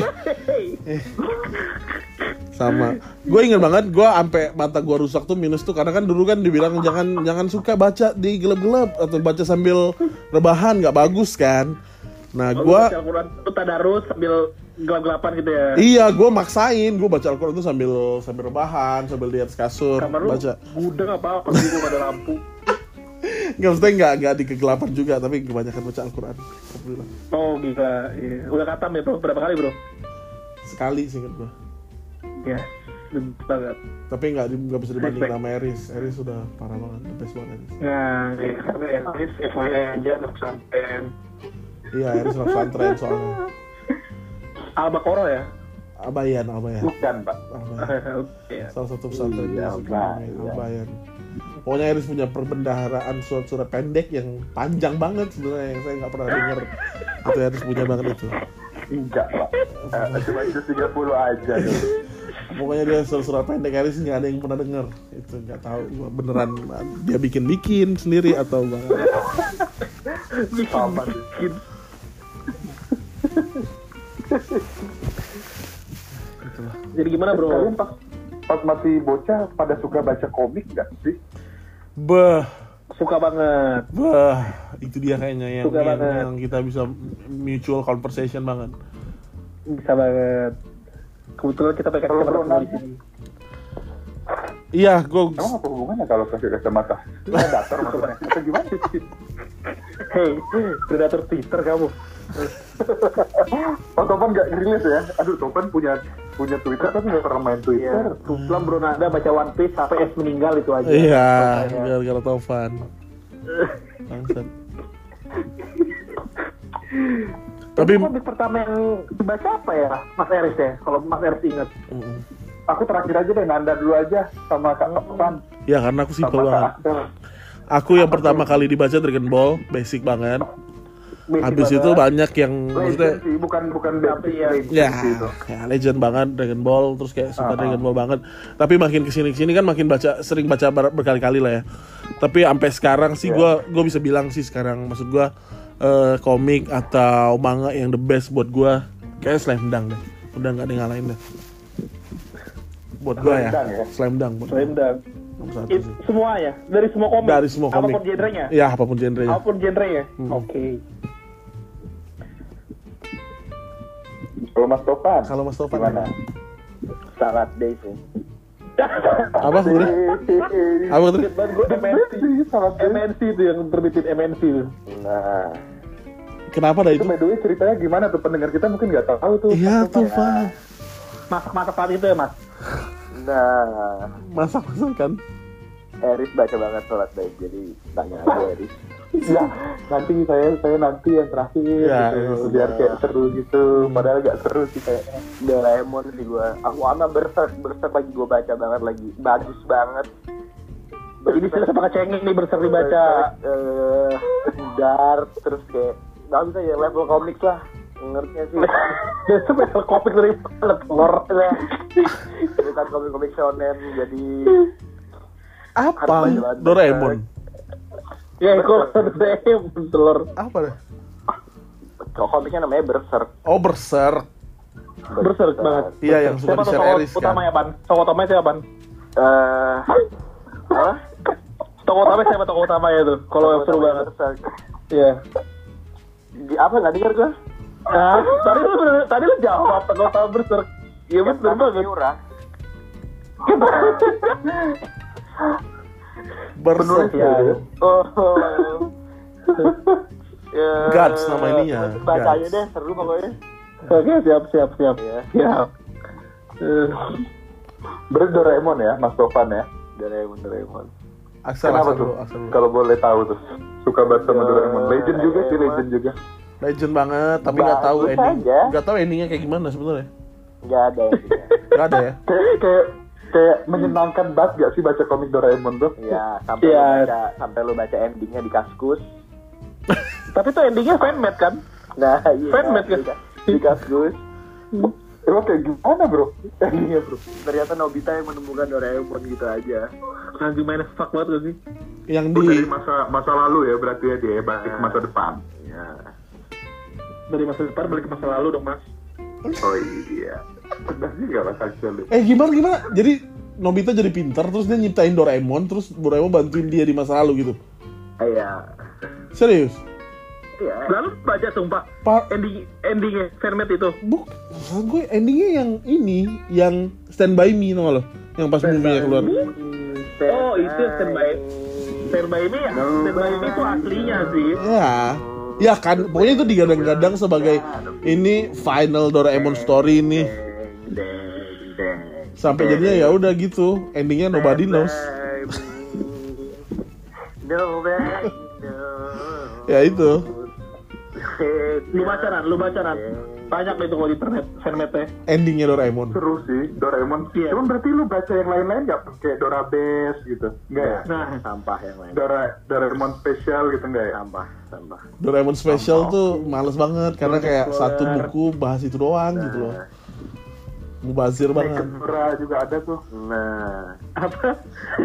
Sama. Gue inget banget, gue sampai mata gue rusak tuh minus tuh karena kan dulu kan dibilang jangan suka baca di gelap-gelap atau baca sambil rebahan, nggak bagus kan. Nah gue baca Al-Quran itu tadarus sambil gelap-gelapan gitu ya? iya gue maksain gue baca Al-Quran tuh sambil rebahan, sambil di atas kasur Kamar lu baca. gudang apa sih gua nggak ada lampu? Nggak, maksudnya nggak di kegelapan juga, tapi kebanyakan baca Al-Quran. Alhamdulillah. Oh gila, iya. Udah katam ya bro? Berapa kali bro? Sekali sih inget gue. Ya, banget. Tapi nggak bisa dibanding Respect. sama Eris. Eris sudah parah banget, the best banget Eris. Nah, ya, tapi Eris FYI aja anak pesantren. Iya, Eris anak pesantren soalnya. Al-Baqarah ya? Abayan. Bukan, Pak. Abayan. Oke. Salah satu pesantren di Iya, Abayan. Pokoknya Eris punya perbendaharaan surat-surat pendek yang panjang banget sebenarnya yang saya nggak pernah dengar. Itu Eris punya banget itu. Enggak, Pak. Cuma itu 30 aja. Pokoknya dia surat-surat pendek Eris nggak ada yang pernah dengar. Itu nggak tahu beneran dia bikin sendiri atau banget. Sama Bikin. Itulah. Jadi gimana bro? Kalian pas masih bocah pada suka baca komik nggak sih? Suka banget. Itu dia kayaknya yang Suka banget. yang kita bisa mutual conversation banget. Bisa banget. Kebetulan kita pakai Kalau kacamata Bro semua di Nanda? sini. Iya, gue Emang apa hubungannya kalau kasih kacamata? Predator maksudnya? Atau gimana? Hey, predator Twitter kamu. Oh, Topan nggak rilis ya? Aduh, Topan punya Twitter tapi nggak pernah main Twitter. Kebetulan Bro Nanda baca One Piece sampai S meninggal itu aja. iya, Makanya. gara-gara Tovan. Bangsat. Tapi Tapi komik pertama yang dibaca apa ya, Mas Eris ya? Kalau Mas Eris ingat. Aku terakhir aja deh, Nanda dulu aja sama Kak Topan. ya karena aku simpel Sama Kak banget. Axel. Aku yang pertama kali dibaca Dragon Ball, basic banget. Basic Habis banget. itu banyak yang Legend maksudnya sih, bukan Tapi ya. legend ya, sih itu. ya legend banget Dragon Ball, terus kayak suka Dragon Ball banget. Tapi makin kesini kan makin sering baca berkali-kali lah ya. Tapi sampai sekarang sih gue bisa bilang sih sekarang, maksud gue komik atau manga yang the best buat gue kayak Slam Dunk deh. Udah nggak ada yang ngalahin deh. Buat gue ya, Slam Dunk ya? Slam Dunk. Buat gua. Slam Dunk. Nomor satu sih. Semua ya? Dari semua komik? Dari semua komik. Apapun genrenya? Ya apapun genrenya. Apapun genrenya? Hmm. Oke. Kalau Mas Topan, Kalau Mas Topan gimana? Salat day sih. apa sebenarnya? Apa tuh? Banget gue MNC. Salat day. MNC itu yang terbitin MNC itu. Nah, Kenapa dah Itu itu? by the way ceritanya gimana tuh, pendengar kita mungkin nggak tahu tuh. Iya Mas tuh, Topan. Pak. Masak saat itu ya mas? nah, Masak kan? Eris baca banget salat day, jadi tanya aja Eris. Ya, nanti saya nanti yang terakhir Ya, gitu, biar kayak seru gitu. Padahal gak seru sih kayaknya. Doraemon sih gue. Aku sama Berserk lagi gue baca banget lagi. Bagus banget. Ini sih sama kecengin nih berseri baca. Dark terus kayak nggak bisa ya level komik lah. Ngertinya sih. Spesial komik dari telur. Bukan komik-komik shonen jadi Apa? Doraemon. Ya, kok Doraemon telur. Apa deh? komiknya namanya Berserk. Oh, Berserk. Berserk banget. Iya, yang suka Siapa di tuh share tokoh Eris kan. utamanya, Pan? Tokoh utamanya siapa, Pan? Apa? Tokoh utamanya siapa tokoh utamanya tuh? Kalau seru banget. Berserk. Iya. Di apa nggak dengar gue? Tadi lu jawab tokoh utama Berserk. Iya, bener banget. Miura. Berserk. Ya. Oh. Ya, Guts nama ininya. Baca aja Guts. deh, seru pokoknya. Oke, siap. Ya. Siap. Berarti Doraemon ya, Mas Tovan ya. Doraemon. Aksel Kenapa tuh? Kalau boleh tahu tuh. Suka banget sama Doraemon. Legend juga sih, legend juga. Legend banget, tapi nggak tahu Bagus ending. aja. Nggak tahu endingnya kayak gimana sebenarnya. Nggak ada endingnya. Nggak ada ya. Kayak menyenangkan banget gak sih baca komik Doraemon tuh? Ya, Iya. sampai lu baca endingnya di Kaskus. Tapi tuh endingnya fanmade kan? Nah, iya. Fanmade kan? Di Kaskus. Emang kayak gimana bro? Endingnya bro. Ternyata Nobita yang menemukan Doraemon gitu aja. Nah, gimana fuck banget gak sih? Yang Oh, di dari masa lalu ya berarti ya dia balik ke masa depan. Ya. Dari masa depan balik ke masa lalu dong, Mas. Oh iya. Benar juga Mas Axel. gimana? Jadi Nobita jadi pintar terus dia nyiptain Doraemon terus Doraemon bantuin dia di masa lalu gitu. Iya. Serius? Iya. Lalu baca sumpah endingnya fanmade itu. Maksud gue endingnya yang ini, yang Stand By Me tau gak lo? Yang pas movie-nya keluar. Oh, itu Stand By Me ya? Stand By Me itu aslinya sih. Ya kan, pokoknya itu digadang-gadang sebagai ini final Doraemon story ini. Sampai jadinya ya udah gitu, endingnya nobody knows. Nobody knows. Ya itu. Lu bacaran. Banyak itu kalau di internet fanmade-nya. Endingnya Doraemon. Seru sih Doraemon. Iya. Cuman berarti lu baca yang lain-lain gak? Kayak Dora Base gitu? Enggak ya? Nah, Sampah yang lain. Doraemon Special gitu enggak ya? Sampah. Doraemon Special tuh males banget karena kayak satu buku bahas itu doang gitu loh. Mubazir banget. Dora juga ada tuh. Nah, apa?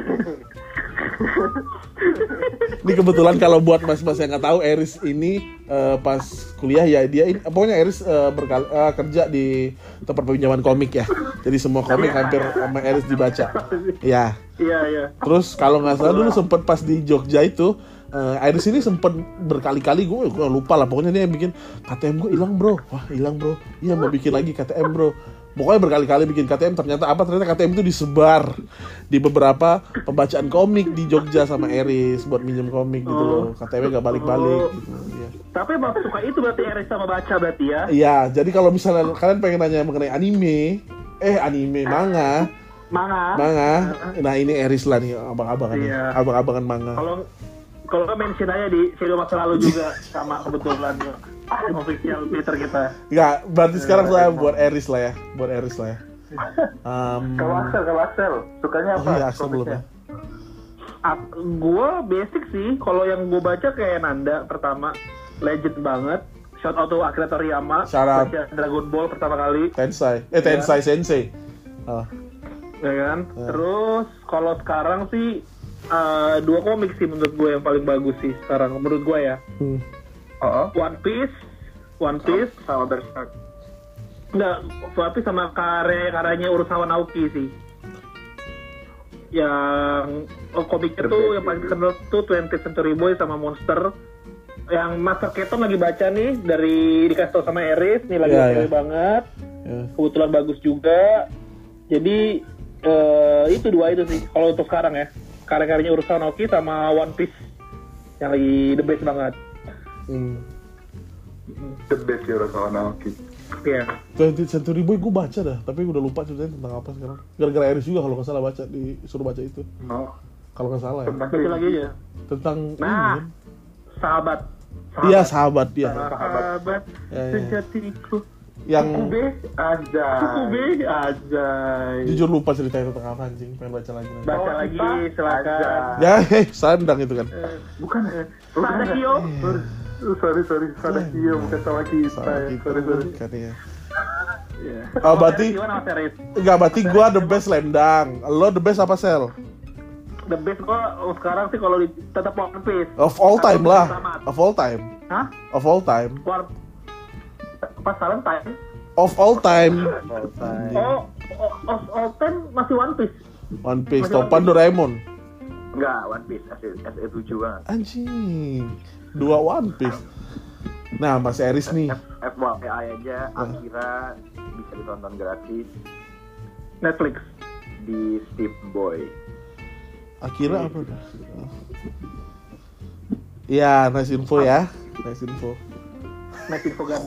Ini kebetulan kalau buat mas-mas yang nggak tahu, Eris ini pas kuliah ya dia ini, pokoknya Eris kerja di tempat pinjaman komik ya. Jadi semua komik hampir sama Eris dibaca. Ya. Iya. Terus kalau nggak salah dulu sempet pas di Jogja itu Iris ini sempet berkali-kali gue lupa lah, pokoknya dia yang bikin KTM gue hilang bro, iya mau bikin lagi KTM bro, pokoknya berkali-kali bikin KTM. Ternyata KTM itu disebar di beberapa pembacaan komik di Jogja sama Iris buat minjem komik gitu loh, KTM-nya gak balik-balik gitu ya. Tapi emang suka itu berarti Eris sama baca berarti ya? Iya, jadi kalau misalnya kalian pengen nanya mengenai manga. Nah ini Eris lah nih, abang-abangan Iya. abang-abangan manga. Kalau nggak mention aja di video masa lalu juga sama kebetulan official Twitter kita. Enggak, berarti sekarang saya buat Eris lah ya. Kalau Axel, sukanya apa? Oh iya, Axel belum ya. Gue basic sih, kalau yang gue baca kayak Nanda pertama, legend banget. Shout out to Akira Toriyama, Shout out. baca Dragon Ball pertama kali, Tensai Sensei. ya kan? Terus kalau sekarang sih 2 komik sih menurut gue yang paling bagus sih sekarang menurut gue ya. One Piece sama Berserk. Enggak, One Piece sama karyanya Urasawa Naoki sih. Yang komiknya tuh yang paling terkenal tuh 20th Century Boy sama Monster. Yang Master Keaton lagi baca nih dikasih tau sama Eris nih, lagi oke banget. Kebetulan bagus juga. Jadi itu 2 itu sih kalau untuk sekarang ya. Karya-karyanya Urasawa Naoki sama One Piece yang lagi the best banget. The best ya Urasawa Naoki. Iya. 20th Century Boy gue baca dah, tapi udah lupa ceritanya tentang apa sekarang. Gara-gara Eris juga kalau nggak salah disuruh baca itu. Kalau nggak salah ya. Baca lagi aja. Tentang Nah. ini. Sahabat. Iya, sahabat dia. Sahabat Ya. sejatiku. Yang Kube aja. Kube aja. jujur lupa ceritanya tentang apa anjing, pengen baca lagi. Baca lagi silakan. Ya, sandang itu kan. Bukan. Sadakio. Sorry. Sadakio bukan sama kita. Salah Ya. gitu Sorry. kan ya. Iya. Oh, berarti Gimana Mas Eris? enggak, berarti gua the best Lendang. Lo the best apa, Sel? The best gua sekarang sih kalau tetap One Piece. Of all time Atau lah. Tamat. Of all time. Hah? Of all time. Pas Valentine. Of all time. Oh, all time masih One Piece. One Piece, Masih topan One Doraemon. Enggak, One Piece SE 7 banget. Anjing. Dua One Piece. Nah, Mas Eris nih. FYI aja, Akira bisa ditonton gratis Netflix. di Steam Boy. Akira apa? Iya, nice info ya. Nice info. Netflix program.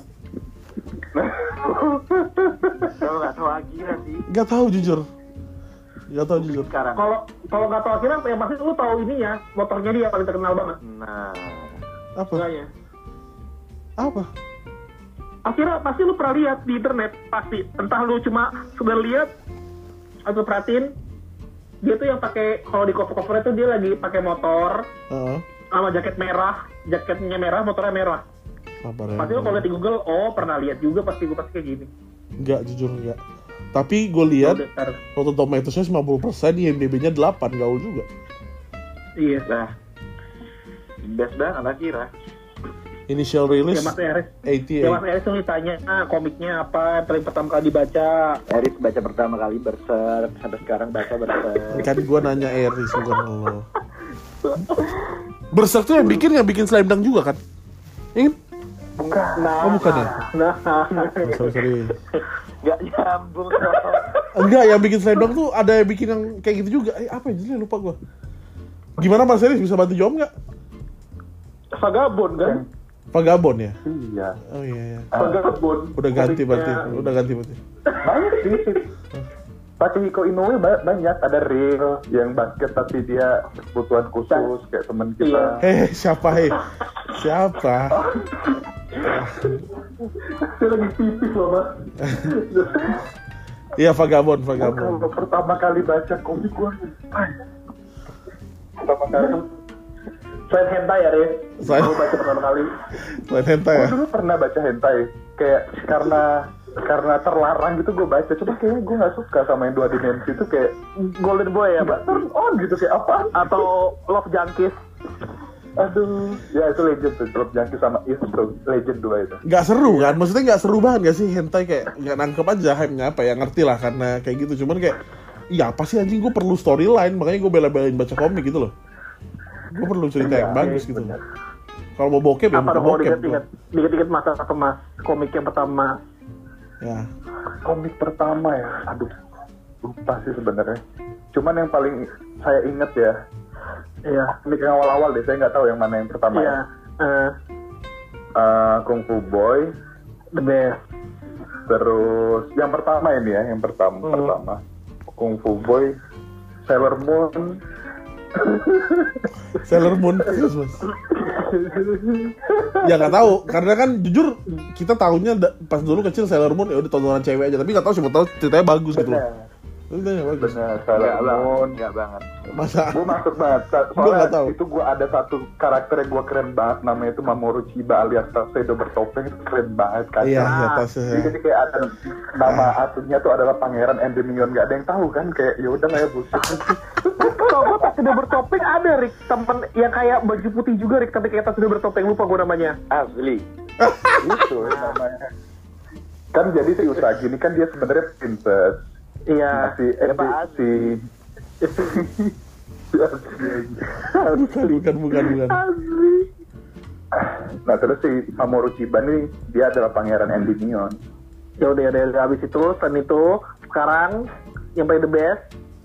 Kalau nggak tahu Akira sih Gak tahu jujur. Gak tahu jujur. sekarang. Kalau nggak tahu akhirnya yang pasti lu tahu ini ya, motornya dia paling terkenal banget. Nah, Apa? Enggaknya. Apa? Akhirnya pasti lu pernah lihat di internet, pasti. Entah lu cuma sudah lihat atau perhatiin, dia tuh yang pakai, kalau di cover-covernya tuh dia lagi pakai motor Heeh. sama jaket merah, jaketnya merah, motornya merah. Apa Pasti lu kalau lihat di Google, oh pernah lihat juga pasti gue pasti kayak gini. Enggak, jujur enggak. Tapi gue lihat Udah, ntar. Rotten Tomatoes-nya 50%, IMDb-nya 8, gaul juga. Iya. nah, best banget Akira. Initial release Ya Mas Eris, 88. ya Mas Eris tuh ditanya komiknya apa yang paling pertama kali dibaca. Eris baca pertama kali Berserk, sampai sekarang baca Berserk. Kan gue nanya Eris bukan lo. Berserk tuh yang bikin Slam Dunk juga kan? Ingin? Nah, Oh, bukan ya? Nah, Oh, sorry. Nggak nyambung. Enggak, yang bikin Slam Dunk tuh ada yang bikin yang kayak gitu juga. Apa ya judulnya, lupa gue. Gimana Mas Eris, bisa bantu jawab nggak? Vagabond kan? Vagabond ya? Iya. Oh iya. Vagabond. Udah ganti Komiknya. berarti. Udah ganti berarti. Banyak sih. Takehiko Inoue banyak. Ada real yang basket tapi dia kebutuhan khusus kayak teman kita. Siapa Siapa? Saya lagi pipis loh mas. Iya, Vagabond. Kalau pertama kali baca komik gua, pertama kali. Selain hentai ya, Riz? Selain- Gue baca pertama kali. Selain hentai ya? Gue dulu pernah baca hentai, kayak karena terlarang gitu gue baca. Cuma kayaknya gue nggak suka sama yang 2 dimensi itu kayak Golden Boy ya, Pak? turn on gitu kayak apa? Atau Love Junkies? Aduh, ya itu legend tuh, Club Junkie sama itu tuh, legend 2 itu. Nggak seru kan? Maksudnya nggak seru banget nggak sih hentai, kayak nggak nangkep aja hype-nya apa ya, ngerti lah karena kayak gitu. Cuman kayak, iya apa sih anjing, gue perlu storyline, makanya gue bela-belain baca komik gitu loh. Gue perlu cerita yang bagus gitu. bener. Kalau mau bokep ya Apa bukan mau bokep. dikit-dikit masa apa mas? Komik yang pertama. Ya. Komik pertama ya, aduh, lupa sih sebenarnya. Cuman yang paling saya inget ya, Iya. komik yang awal-awal deh, saya nggak tahu yang mana yang pertama Iya. ya. Kung Fu Boy, The best. terus yang pertama ini ya, yang pertama Kung Fu Boy, Sailor Moon. Sailor Moon, yes, mas. Ya nggak tahu, karena kan jujur kita tahunya pas dulu kecil Sailor Moon ya udah tontonan cewek aja, tapi nggak tahu siapa tahu ceritanya bagus gitu loh. Ceritanya bagus. Bener, Sailor Moon. Enggak banget. Masa? Gue masuk banget, Gua nggak soalnya tahu. itu gue ada satu karakter yang gue keren banget, namanya itu Mamoru Chiba alias Tuxedo bertopeng, itu keren banget kan. Iya, ya tasnya. Jadi kayak ada nama aslinya tuh adalah Pangeran Endymion, gak ada yang tahu kan, kayak ya udah kayak bullshit. Kalau gue tas sudah bertopeng ada Rick, temen yang kayak baju putih juga Rick, tapi kayak tas sudah bertopeng, lupa gue namanya. Asli. Itu namanya. Kan jadi si Usagi ini kan dia sebenarnya princess. Iya. Bukan. Asli. Nah terus si Mamoru Chiba nih dia adalah Pangeran Endymion. Ya udah habis itu, selain itu sekarang yang paling the best.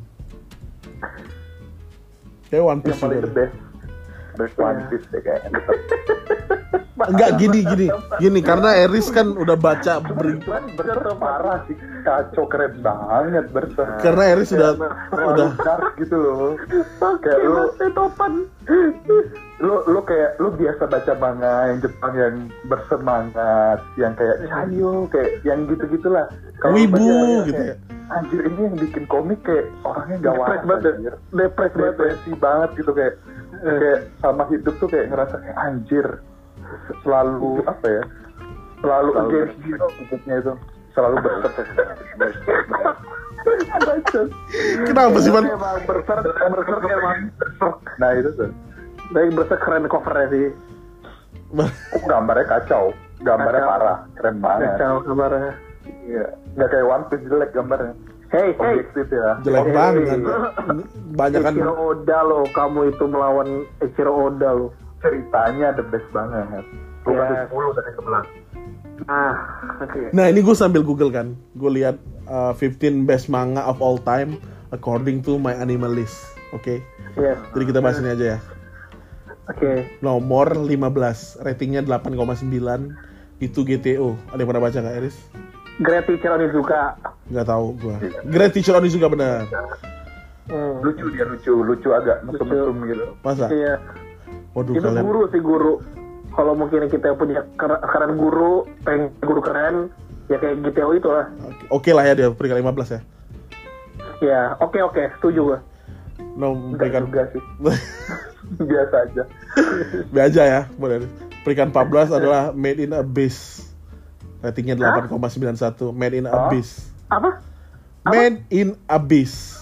Kayak One Yang Piece paling juga the deh. best One Piece deh kayaknya. Enggak, gini karena Eris kan udah baca Berserk parah sih, kacau, keren banget Berserk. karena Eris udah Terlalu dark gitu loh. Kayak lu Topan. lu kayak lu biasa baca manga yang Jepang yang bersemangat, yang kayak ayo kayak yang gitu-gitulah. Kalau Wibu baca gitu kayak, anjir ini yang bikin komik kayak orangnya gak waras anjir. Depresi banget gitu kayak sama hidup tuh kayak ngerasa kayak anjir selalu apa ya? Selalu against hidupnya itu. Selalu berserk. Kenapa sih, Man? Berserk. Nah itu tuh. Tapi berserk keren covernya sih. Gambarnya kacau. Gambarnya parah. Keren banget. Kacau gambarnya. Iya. Nggak kayak One Piece jelek gambarnya. Hey. Objektif ya. Jelek banget. Banyak kan. Eiichiro Oda lo, kamu itu melawan Eiichiro Oda lo. Ceritanya the best banget. Gue kasih 10 dari 11. Oke. Nah, ini gue sambil Google kan. Gue lihat 15 best manga of all time according to my anime list. Oke. Yes. Jadi kita bahas ini aja ya. Oke. Nomor 15, ratingnya 8,9. Itu GTO. Ada yang pernah baca nggak, Eris? Great Teacher Onizuka. Nggak tahu gue. Great Teacher Onizuka benar. Lucu dia lucu agak mesum-mesum gitu. Masa? Iya. Waduh, Itu kalian. guru. Kalau mungkin kita punya keren guru, pengen guru keren, ya kayak GTO itu lah. Oke lah ya dia peringkat 15 ya. Ya, oke, setuju gue. No, peringkat Juga sih. Biasa aja. Biasa ya, boleh. Peringkat 14 adalah Made in Abyss. Ratingnya 8,91. Made in Abyss. Apa? Made in Abyss.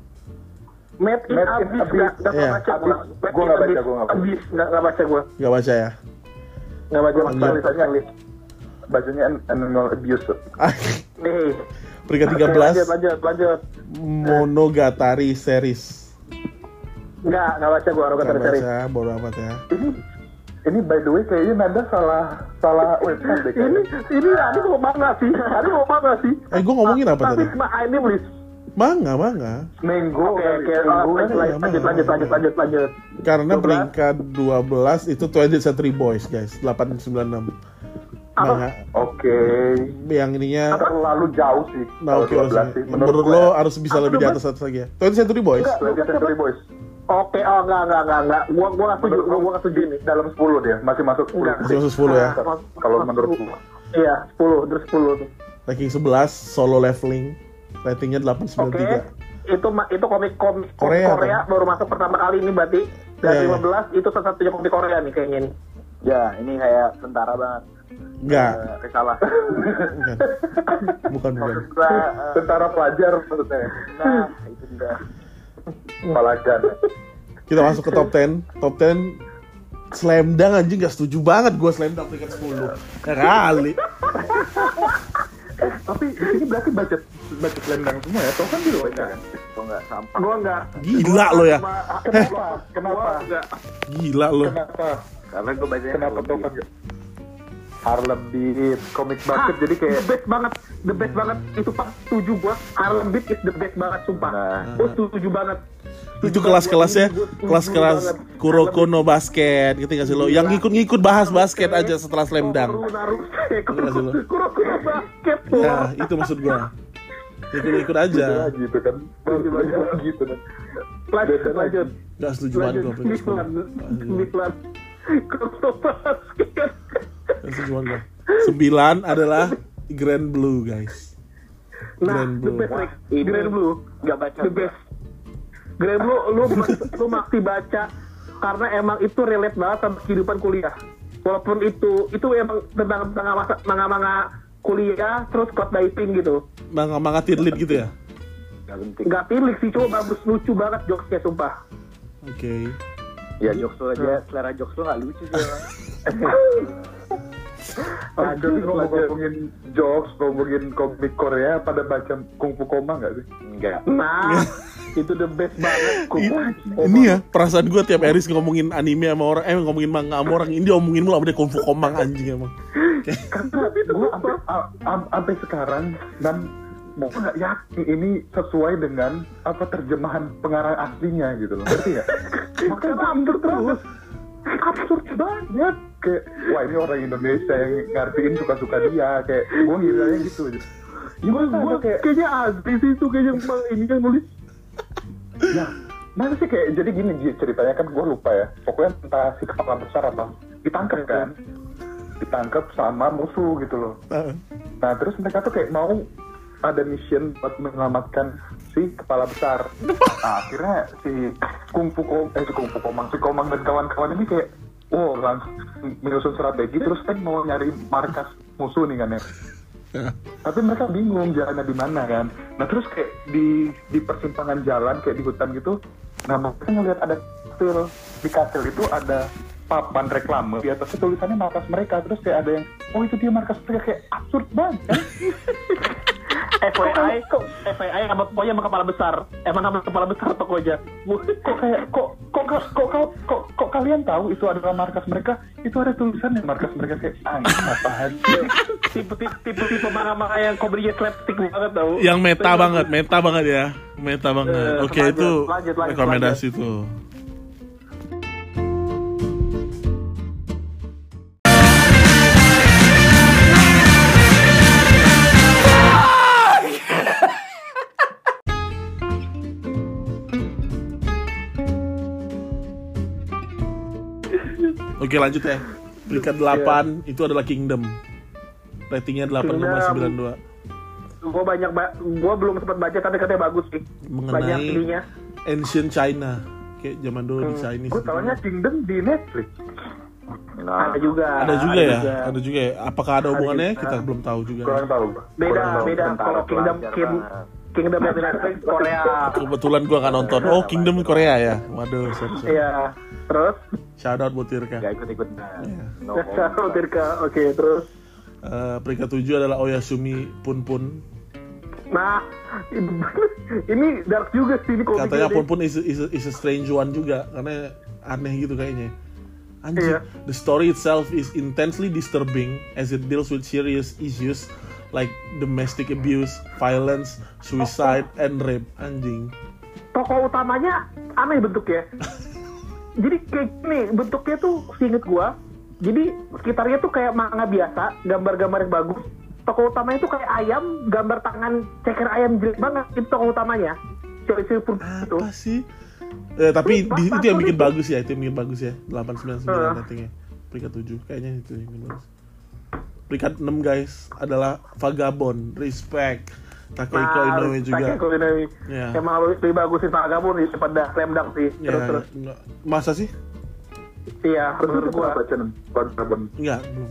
Made in Abyss. Nggak Iya. baca gue. Gue nggak baca. Abyss, nggak baca gue. Gak baca ya? Nggak baca sekali. Bacanya animal abuse. Nih. Peringkat Oke, 13 lanjut. Monogatari series. Nggak baca gue Gak Monogatari series. baca, bodo amat ya. Ini by the way kayaknya Nanda salah website deh. Ini mau manga sih. Gue ngomongin apa Tapi tadi? ini please. Manga. Mango. Oke, lanjut. Karena 12. peringkat 12 itu 20th Century Boys, guys. 896. Manga. Oke. Yang ininya Terlalu jauh sih. Nah, oke, Kalau 12 sih. menurut gue lo harus bisa lebih di atas atas lagi ya. 20th Century Boys. 20th Century Boys. Oke, enggak. Gua nggak setuju ini. Dalam 10 dia, masih masuk 10. Masih masuk 10 ya. Kalau menurut gua. Iya, 10 tuh. Ranking 11 Solo Leveling. Ratingnya Oke. 893. Itu komik Korea, Korea kan? baru masuk pertama kali ini berarti. Dan Iya. 15 itu satu-satunya komik Korea nih kayaknya nih. Ya, ini kayak tentara banget. Enggak. Salah. Bukan. Tentara pelajar maksudnya. Nah, itu dia. Pelajar. Kita masuk ke top 10. Top 10 Slam Dunk anjing gak setuju banget gue Slam Dunk peringkat 10. Ya kali. Tapi di sini berarti baca selendang semua ya. Toh kan di luar kan. Itu enggak sampah. Gua enggak. Gila lo ya. Kenapa? Gila lo. Kenapa? Karena gue bacanya Kenapa Harlem Toh? Beat. Harlem Beat, komik bucket jadi kayak the best banget itu Pak, setuju gua. Harlem Beat is the best banget sumpah. Nah. Gua setuju banget. Itu kelas-kelasnya, kelas-kelas Kuroko no basket gitu gak sih lo? Yang ngikut-ngikut bahas basket aja setelah Slam Dunk. Kuroko basket. Ya, itu maksud gua. Ikut-ikut aja. gitu kan. Gitu kan. Lanjut. Gak setuju banget gua peringkat 9. Kuroko basket. Gak setuju banget gua. 9 adalah Grand Blue, guys. Nah, Grand the Blue. best Grand Blue. Enggak baca. The best. Grand Blue, lu mesti baca karena emang itu relate banget sama kehidupan kuliah. Walaupun itu emang tentang manga kuliah, terus code diving gitu. Manga tirlit gitu ya? Enggak penting. Nggak tilik sih, cuma bagus, lucu banget jokesnya sumpah. Oke. Ya jokes lu aja, selera jokes lu enggak lucu sih. Jadi ngomongin jokes, ngomongin komik Korea, pada baca Kung Fu Koma nggak sih? Enggak. Nah, itu the best banget. Ini ya perasaan gue tiap Eris ngomongin anime sama orang, ngomongin manga sama orang, ini dia omongin mulu sama dia Kung Fu Komang anjing emang. Gue sampai sekarang dan mau nggak yakin ini sesuai dengan apa terjemahan pengarang aslinya gitu loh, ngerti nggak? Makanya absurd banget kayak wah ini orang Indonesia yang ngartiin suka-suka dia, kayak gue ngiranya gitu aja. Gue kayaknya asli sih itu kayaknya ini kan nulis. Ya Masa sih kayak jadi gini ceritanya kan gue lupa ya. Pokoknya entah si kepala besar apa ditangkap kan. Ditangkap sama musuh gitu loh. Nah terus mereka tuh kayak mau ada mission buat menyelamatkan si kepala besar. Nah, akhirnya si Komang dan kawan-kawan ini kayak langsung menyusun strategi terus kan mau nyari markas musuh nih kan ya. Tapi mereka bingung jalannya di mana kan. Nah terus kayak di persimpangan jalan kayak di hutan gitu. Nah mereka ngeliat ada kastil. Di kastil itu ada papan reklame. Di atasnya tulisannya markas mereka. Terus kayak ada yang itu dia markas mereka. Kayak absurd banget kan. FYI sama pokoknya sama kepala besar. Emang nama kepala besar tokonya. Kok kalian tahu itu adalah markas mereka? Itu ada tulisannya markas mereka kayak apaan? Tipe manga-manga yang komedinya slapstick banget tau. Yang meta banget ya. Meta banget. Oke, itu rekomendasi tuh. Oke, lanjut ya. Peringkat 8 itu adalah Kingdom. Ratingnya 8,92. Gue belum sempat baca tapi katanya bagus sih. Banyak Mengenai ininya. Ancient China. Kayak zaman dulu di Chinese. Gue tahunya Kingdom di Netflix. Ada juga ya. Apakah ada hubungannya? Kita belum tahu juga. Kurang tahu. Beda. Kalau Kingdom yang di Netflix Korea. Kebetulan gua nggak nonton. Oh, Kingdom Korea ya. Waduh, sorry. Iya. Terus? Shout out buat Tirka. Gak ikut-ikut. Tirka. Oke, terus? Peringkat 7 adalah Oyasumi Punpun. Nah, ini dark juga sih ini komiknya. Katanya Punpun is a strange one juga karena aneh gitu kayaknya. Anjir, the story itself is intensely disturbing as it deals with serious issues like domestic abuse, violence, suicide, and rape. Anjing. Tokoh utamanya aneh bentuknya. Jadi kayak gini, bentuknya tuh seinget gua. Jadi sekitarnya tuh kayak manga biasa, gambar-gambar yang bagus. Tokoh utamanya tuh kayak ayam, gambar tangan ceker ayam jelek banget. Itu tokoh utamanya. Cewek-cewek pun itu. Apa sih? Tapi itu yang bikin bagus ya, 899 ratingnya. Peringkat 7 kayaknya itu yang bikin bagus. Peringkat 6 guys adalah Vagabond. Respect. Takehiko Inoue juga. Takehiko Inoue. Ya. Emang lebih bagusin Vagabond daripada Slam Dunk sih. Terus. Masa sih? Iya, menurut gua. Vagabond. Enggak, belum.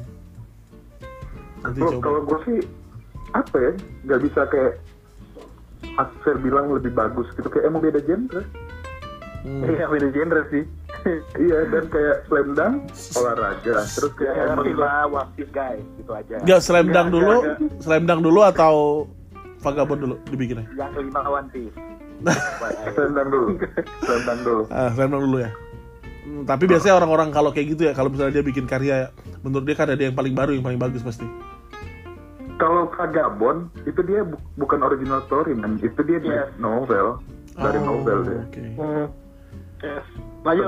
Nanti coba. Kalau gue sih apa ya? Gak bisa kayak Asfer bilang lebih bagus gitu. Kayak emang beda genre. Iya, beda genre sih. Iya, dan kayak Slam Dunk olahraga. Terus kayak One Piece guys, gitu aja. Enggak, Slam Dunk dulu atau Vagabond dulu dibikinnya? Yang kelima One Piece. Slam Dunk dulu. Slam Dunk dulu ya. Tapi biasanya orang-orang kalau kayak gitu ya, kalau misalnya dia bikin karya, menurut dia kan ada yang paling baru, yang paling bagus pasti. Kalau Vagabond itu dia bukan original story man, itu dia novel dari novel dia. Okay. Yes. Lanjut.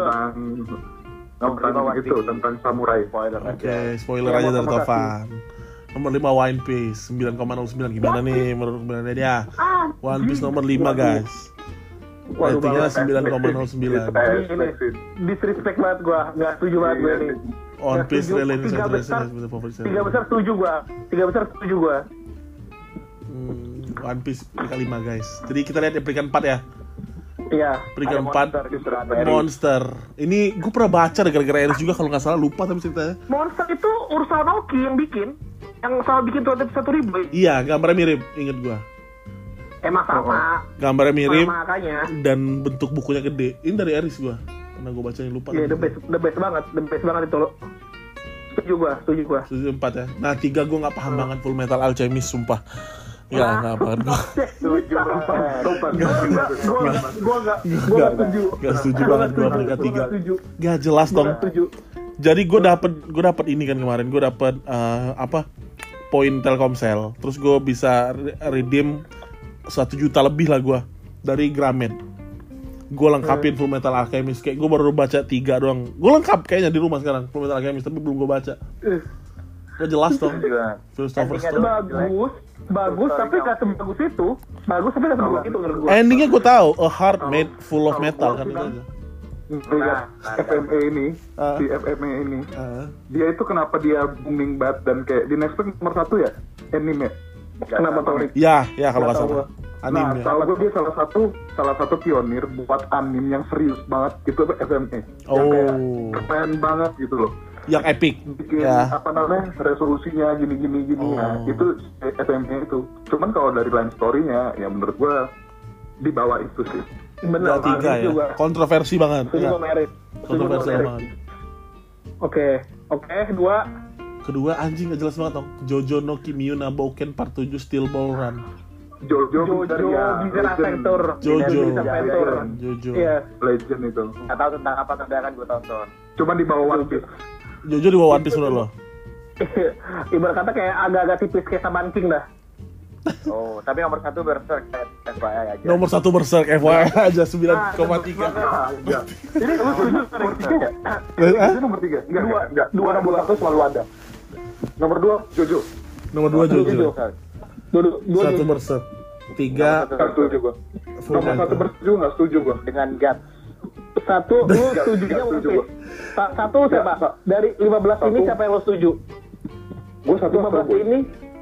Tentang samurai. Spoiler aja dari Tovan. Nomor 5 One Piece 9,09. Gimana nih menurut kalian dia? One Piece nomor 5 guys. Ratingnya 9,09. Disrespect banget gua, nggak setuju banget gue ini. One Piece Relentless favorit saya. 3 besar setuju gua. One Piece peringkat 5 guys. Jadi kita lihat peringkat 4 ya. Iya. Peringkat 4 Monster. Ini gue pernah baca gara-gara Eris juga kalau nggak salah, lupa tapi ceritanya. Monster itu Urusama Naoki yang bikin. Yang sama bikin 1.000. Iya, gambarnya mirip, inget gue. Emang sama. Gambarnya mirip makanya. dan bentuk bukunya gede. Ini dari Eris gue. Karena gue bacanya lupa. Iya, the best banget itu loh. Setuju gua. Setuju 4 ya. Nah 3 gue nggak paham banget Full Metal Alchemist sumpah. Ya nggak paham gue. Setuju. Gua nggak setuju. Nggak setuju banget gue peringkat 3. Gak jelas dong. Jadi gue dapet ini kan kemarin. Gue dapet poin Telkomsel. Terus gue bisa redeem 1 juta lebih lah gue dari Gramet. Gue lengkapin Full Metal Alchemist. Kayak gue baru baca 3 doang. Gue lengkap kayaknya di rumah sekarang Full Metal Alchemist, tapi belum gue baca. Gak jelas dong. Juga. Philosopher's Endingnya Stone. bagus tapi nggak sebagus itu. Bagus tapi nggak sebagus itu menurut gue. Endingnya gue tahu, a heart made full of metal kan itu aja. Lihat FMA ini, si FMA ini, dia itu kenapa dia booming banget dan kayak di Netflix nomor 1 ya, anime. Kenapa Tori? Ya kalau nggak Nggak tahu salah. Nah, Anime. tahu gue dia salah satu pionir buat anime yang serius banget itu FMA. Yang kayak keren banget gitu loh. Yang epic. Bikin Ya. apa namanya resolusinya gini. Nah, itu FMA itu. Cuman kalau dari line story-nya ya menurut gue di bawah itu sih. Benar. 3 ya. Kontroversi banget. Setuju Ya. sama Eris. Kontroversi banget. Oke, kedua. Kedua anjing gak jelas banget dong. Jojo no Kimio na Bouken Part 7 Steel Ball Run. Jojo Bizarre Adventure. Jojo. Bizarre Adventure. Jojo. Iya. Legend itu. Nggak tahu tentang apa tapi akan gue tonton. Cuman di bawah One Piece. Jojo di bawah One Piece menurut lo. Ibarat kata kayak agak-agak tipis kayak Saban King dah. Oh, tapi nomor 1 Berserk FYI aja. Nomor 1 Berserk FYI aja 9,3. Enggak. Ini lu setuju Nomor 3 ya? Hah? Itu nomor 3? Enggak. Dua nomor 1 selalu ada. Nomor 2 Jojo. Nomor 2 Jojo. Dua 1 Berserk. 3 Enggak setuju gua. Full Nomor 1 Metal. bersetuju enggak setuju gua. Dengan God. Satu, lu setujunya Nggak One setuju, Piece. Satu siapa? Dari 15 ini siapa yang lo setuju? Gua 1 15 ini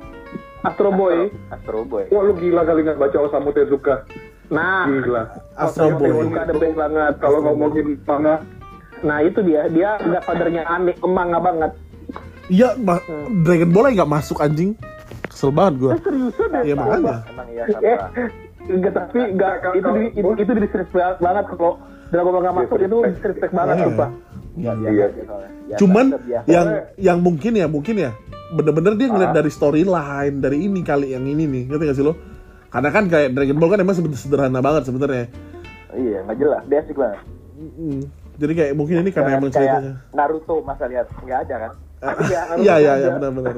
Astro Boy. Astro Boy. Wah lu gila kali nggak baca Osamu Tezuka. Nah, Gila. Astro Boy. Tezuka the best banget. Kalau ngomongin manga, Nah itu dia godfathernya aneh, manga banget. Iya, Dragon Ball aja gak masuk anjing. Kesel banget gue. Seriusan deh. Iya makanya. Emang iya sama. Enggak, tapi enggak, itu disrespect banget kalau Dragon Ball nggak masuk, itu disrespect banget Iya. sumpah. iya. Cuman yang mungkin ya bener-bener dia ngeliat dari storyline, dari ini kali yang ini nih, ngerti gak sih lo? Karena kan kayak Dragon Ball kan emang sederhana banget sebenarnya. Iya, nggak jelas, basic banget. Jadi kayak mungkin ini karena emang kayak ceritanya. Naruto masa lihat nggak ada kan? Iya benar.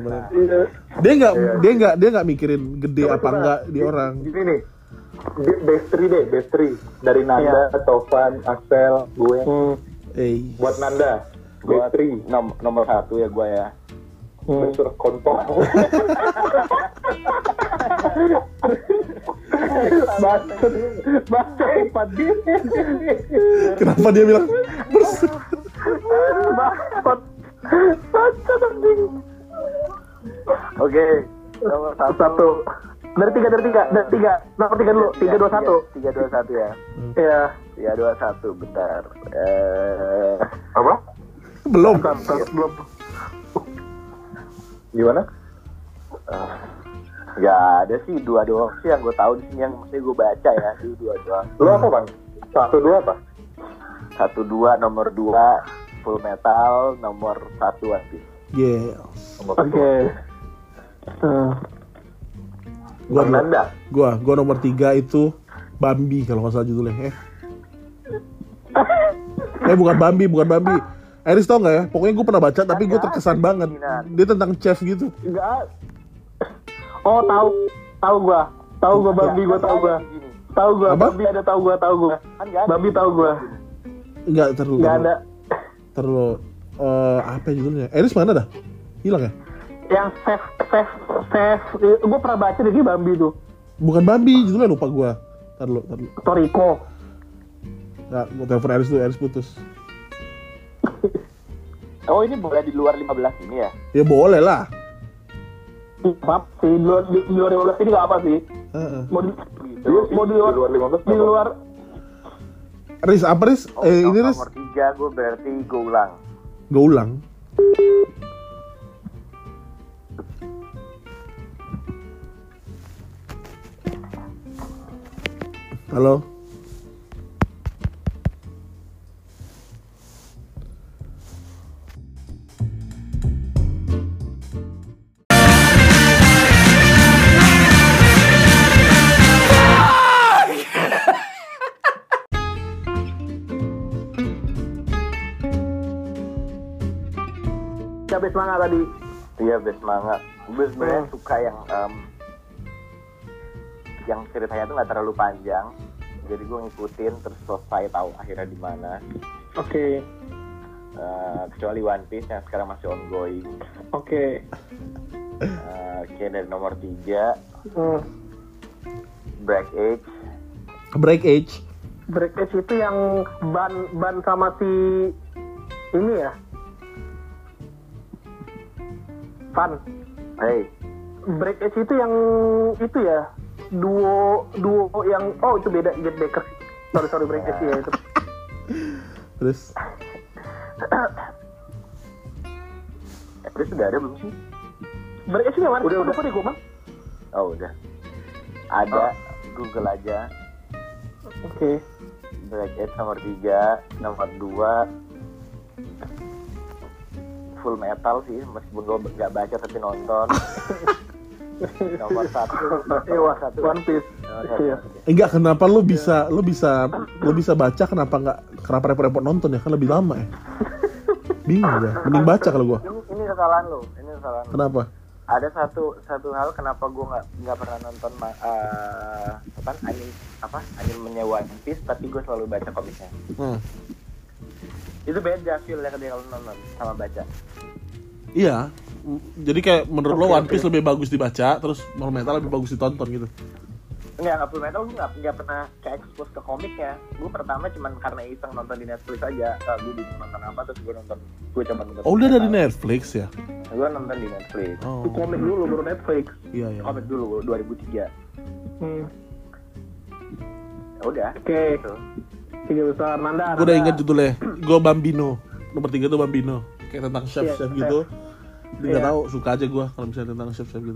Dia nggak mikirin gede apa enggak di orang. Gini nih, best three dari Nanda, Tovan, Axel, gue. Buat Nanda, Buat best three. nomor 1 ya gue ya. Besar kontol. Baca empat dia. Kenapa dia bilang bersih? Baca anjing. Oke, nomor 1. Dari tiga. Nomor 3 dulu. 3-2-1. 3-2-1 ya. Iya. 3-2-1, bentar. Apa? Belum. Belum. Gimana? Nggak ada sih, 2 doang sih yang gue tahu di sini yang mesti gue baca ya. Itu 2 doang. Lu apa bang? 1-2 apa? 1-2, nomor 2 Full Metal, nomor 1 One Piece. Yes. Oke. Gua nomor 3 itu Bambi kalau nggak salah judulnya. Bukan Bambi. Iris tau nggak ya? Pokoknya gue pernah baca tapi gue terkesan banget. Dia tentang chef gitu. Enggak. Oh, tahu gua Bambi, gua tahu gua. Apa? Bambi ada tahu gua. Kan nggak ada. Bambi tahu gua. Enggak terlalu. Enggak ada. Terlalu apa judulnya? Iris mana dah? Hilang ya? Yang chef. Gua pernah baca di Bambi tuh. Bukan Bambi, judulnya lupa gua. Terlalu. Toriko. Nggak, mau telepon Iris dulu, Iris putus. Oh, ini boleh di luar 15 ini ya? Ya boleh lah. Apa sih? Di luar 15 ini nggak apa sih? Mau di luar. Riz, apa Riz? Ini Riz? Nomor 3 gue berarti gue ulang. Gue ulang. Halo? Cabai semangat tadi. Iya, best manga. Gue sebenarnya suka yang ceritanya tuh nggak terlalu panjang. Jadi gue ngikutin terus selesai tahu akhirnya di mana. Oke. kecuali One Piece yang sekarang masih ongoing. Oke. Oke, dari nomor 3 Break Age. Break Age. Break Age itu yang ban sama si ini ya. Fun. Hey, Break Age itu yang itu ya. Duo yang itu beda Get Baker. Sorry Break Age ya itu. Terus terus udah ada belum sih? Break Age yang mana? Udah. Lupa deh gue, Man. Oh udah. Ada, Google aja. Oke. Break Age nomor 3, nomor 2 Full Metal sih, meskipun gue nggak baca tapi nonton. Nomor 1 One Piece. Iya. enggak, kenapa lu bisa baca, kenapa repot-repot nonton ya, kan lebih lama ya. Bingung gue, mending baca kalau gue. Ini kesalahan lo. Kenapa? Ada satu hal kenapa gue nggak pernah nonton anime One Piece, tapi gue selalu baca komiknya. Itu beda feel-nya kalau nonton sama baca. Iya, jadi kayak menurut lo One Piece lebih bagus dibaca, terus Full Metal lebih bagus ditonton gitu. Nggak Full Metal gue nggak pernah ke-expose ke komiknya. Gue pertama cuman karena iseng nonton di Netflix aja. Gue bingung nonton apa, terus gue coba nonton. Oh, udah dari Netflix ya? Gue nonton di Netflix. Oh. Komik dulu baru Netflix. Iya. Komik dulu 2003. Ya udah. Oke. Gitu. 3 besar Nanda. Gue udah ingat judulnya. Gue Bambino. Nomor 3 tuh Bambino. Kayak tentang chef gitu. Dia nggak tahu, suka aja gue kalau misalnya tentang chef gitu.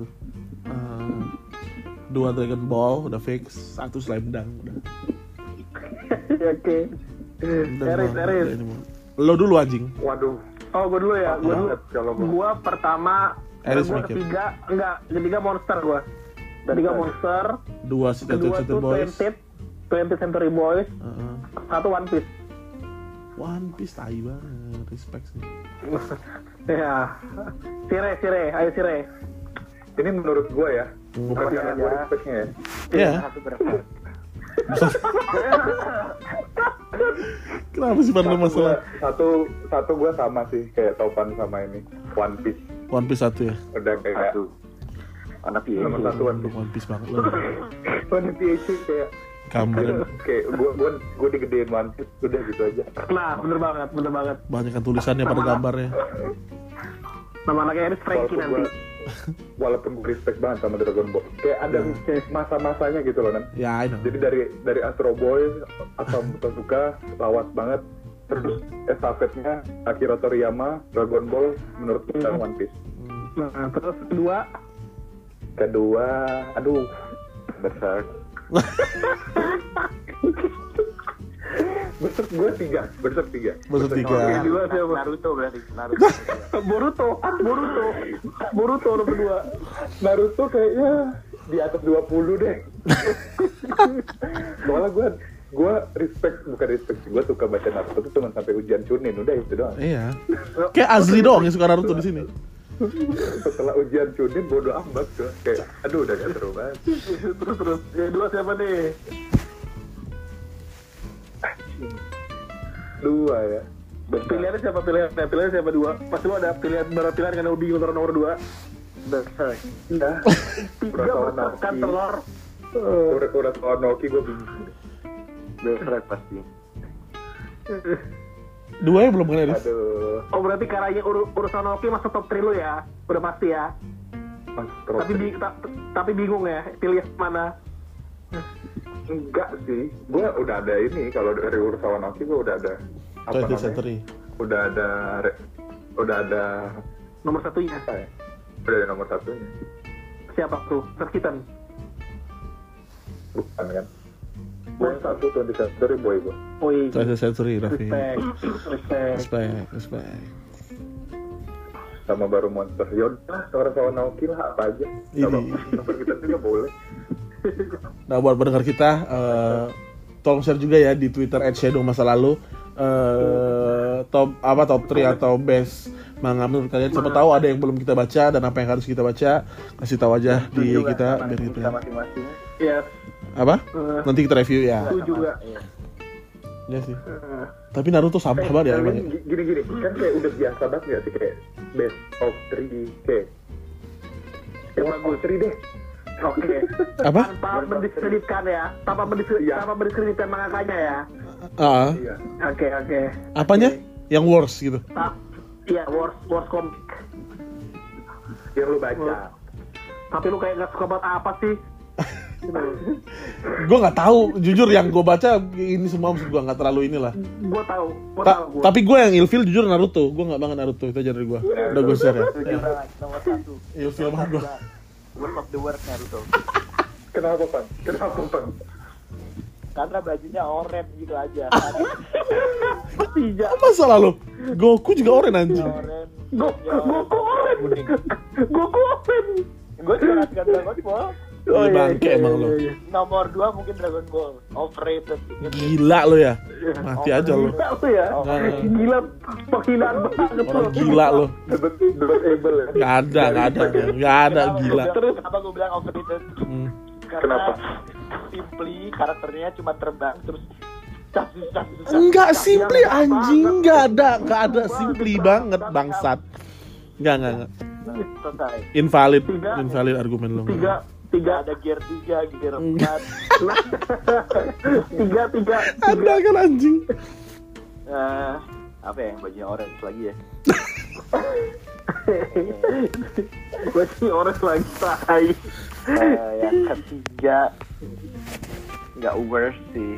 2 Dragon Ball udah fix, 1 Slam Dunk udah. Oke. Eris. Lo dulu anjing. Waduh. Oh, gue dulu ya. Gue pertama. Eris Gue mikir. ketiga Monster gue. Ketiga Monster. 2 Kedua City tuh Boys. 20th Century Boys. 1 One Piece. One Piece tai banget, respect sih. Ya. Sire. Ayo Sire. Ini menurut gue ya, bukan karena gue respectnya ya. Iya. Satu berapa? Kenapa sih pada masalah? Satu gue sama sih kayak Topan sama ini One Piece. One Piece 1 ya. Udah kayak Anak PhD. nomor 1 One Piece. One Piece banget lo. One Piece kayak Kamu kayak gue digedein One Piece udah gitu aja. Nah, bener banget. banyak kan tulisannya pada gambarnya. Nama anaknya Eris Frankie nanti. Walaupun gue respect banget sama Dragon Ball, kayak ada masa-masanya gitu loh kan. Ya, I know. Jadi dari Astro Boy, Asam Suka, lawas banget. Terus estafetnya Akira Toriyama, Dragon Ball, menurut kita One Piece. Nah, terus Kedua, aduh, besar. Berserk gue 3. Berserk 3. Kedua siapa? Naruto berarti. Boruto nomor 2. Naruto kayaknya di atas 20 deh. Soalnya gue bukan respect, gue suka baca Naruto tuh cuma sampai ujian Chunin, udah itu doang. Iya. Kayak Azli doang yang suka Naruto di sini. Setelah ujian Chunin bodo amat tuh, kayak aduh udah gak seru banget. Terus. Yang 2 siapa nih? 2 ya. Pilihannya siapa 2? Pasti lo ada pilihan kan lo bingung nomor 2. Berserk. Nah, 3 kan telur. Urasawa Naoki gue bingung. Berserk pasti. 2 ya belum kan Eris? Aduh, Oh, berarti karanya urusan Naoki masuk top 3 lo ya? Udah pasti ya? Mas Tropi. Tapi bingung ya, pilih mana? Enggak sih, gue udah ada ini. Kalau dari Urasawa Naoki gue udah ada apa 20th namanya? Century. Udah ada Nomor 1-nya. apa ya? Udah ada nomor 1-nya. Siapa tuh? Terkitan. Bukan kan? Gue 20th Century Boy gue. Oi. 20th Century, Raffi. Respect. Sama baru Monster. Yaudah, Urasawa Naoki lah, apa aja. Kalau nomor kita juga boleh. Nah, buat pendengar kita, tolong share juga ya di Twitter @shadow masa lalu top 3 atau best manga menurut kalian. Siapa tahu ada yang belum kita baca dan apa yang harus kita baca, kasih tahu aja di kita biar kita masing-masing. Yes. apa nanti kita review ya. Itu juga. Iya sih. Tapi Naruto sampah banget ya emang. Gini kan kayak udah biasa banget nggak sih kayak best of 3 kayak bagus 3 deh. Oke. Apa? Tanpa mendiskreditkan ya, tanpa mendiskreditkan mangakanya ya. Iya. Oke. Apanya? Yang worst gitu. Iya, worst komik. Yang lu baca. Tapi lu kayak nggak suka banget apa sih? Gue nggak tahu, jujur yang gue baca ini semua maksud gue nggak terlalu inilah. Gue tahu. Tapi gue yang ilfil jujur Naruto, gue nggak banget Naruto itu aja dari gue. Udah gue share ya. Setuju banget, nomor 1. Ilfil banget gue. Worst of the worst Naruto. Kenapa Pan? Karena bajunya orange gitu aja. Tidak. Apa masalah lo? Goku juga oren anjing. Goku oren. Gue juga nggak Dragon Ball. Iya bangke emang lo. Nomor 2 mungkin Dragon Ball. Overrated. Gila lo ya. Mati aja lo. Gila tuh ya. Gila, penghinaan banget Orang lo. gila lo. Debatable ya. Gak ada gila. Terus kenapa gue bilang overrated? Karena Kenapa? simply karakternya cuma terbang terus Enggak simply anjing, enggak ada simply banget bangsat. Enggak. selesai. Invalid Tiga. argumen lo. Tiga Ada gear 3, gear 4. tiga. Ada kan anjing. Apa ya yang bajunya orange lagi ya? Gue sih orange lagi tai. Yang ketiga nggak worst sih.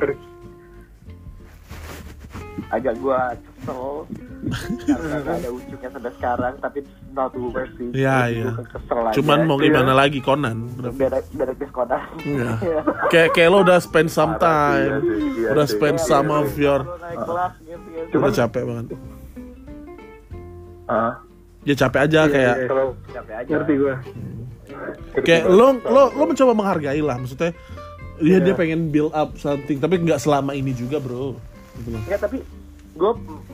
Agak gua kesel karena nggak ada ujungnya sampai sekarang, tapi not worst sih. Iya. Kesel aja. Cuman mau gimana lagi Conan? Beda kes Conan. Iya. Kayak lo udah spend some time, Iya udah sih. spend some of your, Naik kelas gitu. udah capek banget. Ya capek aja kayak Capek aja. Ngerti gue. kayak lo mencoba menghargai lah, maksudnya dia pengen build up something, tapi nggak selama ini juga bro. Gitu loh. Ya tapi gue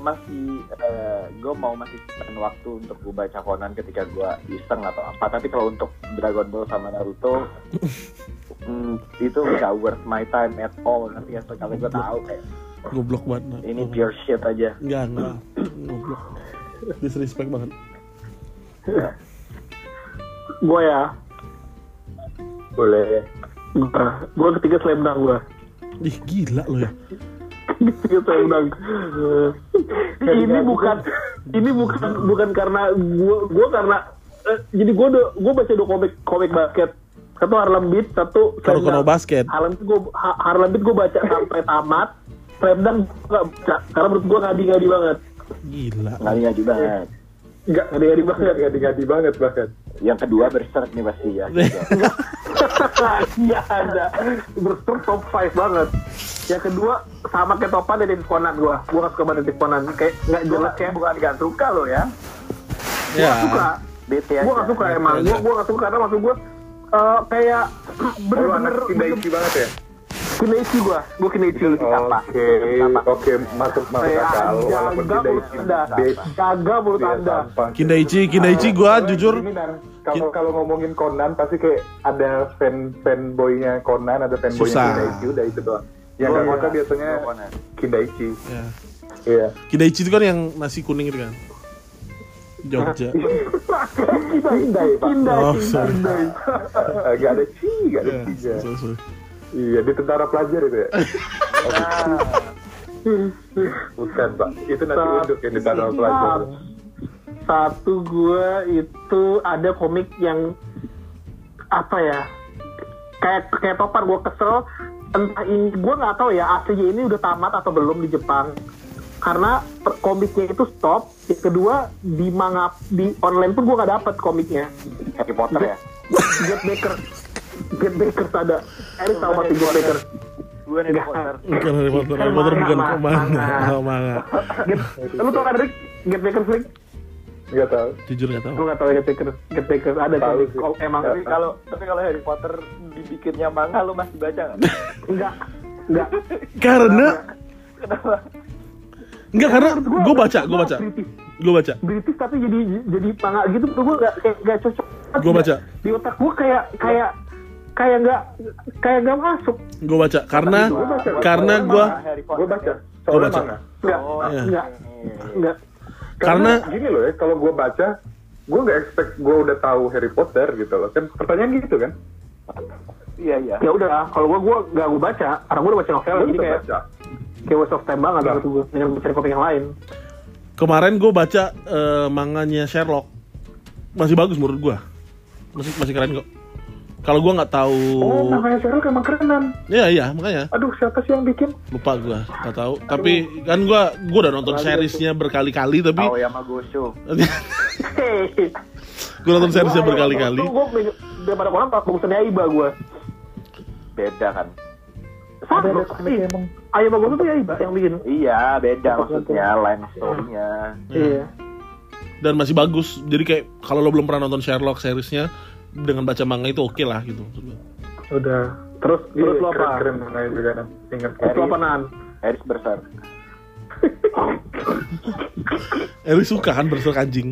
mau masih spend waktu untuk gue baca Conan ketika gue iseng atau apa. Tapi kalau untuk Dragon Ball sama Naruto itu nggak worth my time at all. Nanti ya sekali gue tahu kayak Goblok banget. ini pure shit aja. Enggak. Goblok. Disrespect banget. Gue ya. Boleh. Gue ketiga Slam Dunk gue. Ih gila lo ya. Ketiga Slam Dunk. Ini bukan karena gue karena jadi gue baca 2 komik basket. Satu Harlem Beat, satu Slam Kuroko no Dunk. Basket. Harlem Beat gue baca sampai tamat. Slam Dunk gue gak baca karena menurut gue ngadi-ngadi banget. Gila. Ngadi banget. Enggak, ngadi-ngadi banget bahkan. Yang kedua Berserk nih pasti ya. Iya ada. Berserk top 5 banget. Yang kedua sama kayak topan Detektif Conan gue gak suka banget Detektif Conan. Kayak nggak jelas kayak. Bukan gak suka lo ya. Ya. Suka. BT aja. Gue gak suka emang. Gue gak suka karena maksud gue kayak bener-bener Kindaichi banget ya? Kineichi gue Kineichi. Oke, masuk akal. Walaupun Kagak menurut anda. Kindaichi gua jujur kalau ngomongin Conan pasti kayak ada fanboynya Conan, ada fanboynya Susah. Kindaichi, udah itu doang. Yang nggak suka biasanya Kindaichi. ya. Iya. Kindaichi itu kan yang nasi kuning itu kan. Jogja. Kindai. Oh, sorry. Gak ada ci. Ya, sorry. Iya, di tentara pelajar itu ya. Bukan Pak, itu nasi uduk yang di tentara pelajar. Satu gue itu ada komik yang apa ya, kayak topan gue kesel, entah ini gue nggak tahu ya aslinya ini udah tamat atau belum di Jepang, karena komiknya itu stop. Yang kedua di manga di online pun gue nggak dapet komiknya. Harry Potter ya. Get Baker ada. Erik tahu mati Get Baker. Gue Harry Potter. Bukan Harry Potter. Harry Potter bukan manga. Lu tau kan Rick? Get Baker Flick? Nggak tahu. Jujur nggak tahu. Lu nggak tahu Get Baker ada Tahu komik. sih. Emang Tapi kalau Harry Potter dibikinnya manga lu masih baca nggak? enggak. Karena Kenapa? enggak karena gue baca. British tapi jadi manga gitu tuh gue nggak cocok. Gue baca. Di otak gue kayak nggak masuk. Gue baca karena gue Gue baca. Soalnya baca. manga. Iya. Enggak. Karena Karena- gini loh ya, kalau gue baca, gue nggak expect gue udah tahu Harry Potter gitu loh. Kan pertanyaan gitu kan? Iya iya. Ya udah, kalau gua nggak gua baca, karena gua udah baca novel, Gue jadi tetap kayak baca. waste of time banget Lah. menurut gua dengan cari komik yang lain. Kemarin gue baca manganya Sherlock, masih bagus menurut gue, masih keren kok. Kalau gue nggak tahu, Oh, makanya Sherlock emang kerenan. iya makanya Aduh, siapa sih yang bikin? lupa gue, nggak tahu. Tapi kan gue udah nonton seriesnya berkali-kali, tapi Aoyama Gosho. Hehehe. gue nonton seriesnya berkali-kali. Gua daripada kolam bagusan Aiba gua. Beda kan? Sama sih. Ayo bagus tuh Aiba yang bikin. Iya, beda maksudnya line story-nya. Iya. Dan masih bagus. Jadi kayak kalau lo belum pernah nonton Sherlock seriesnya, dengan baca manga itu oke lah gitu. Udah. Terus lu apa? Keren makanya juga kan. Ingat. Terus lu apa Nan? Eris besar. Eri suka kan berserk anjing.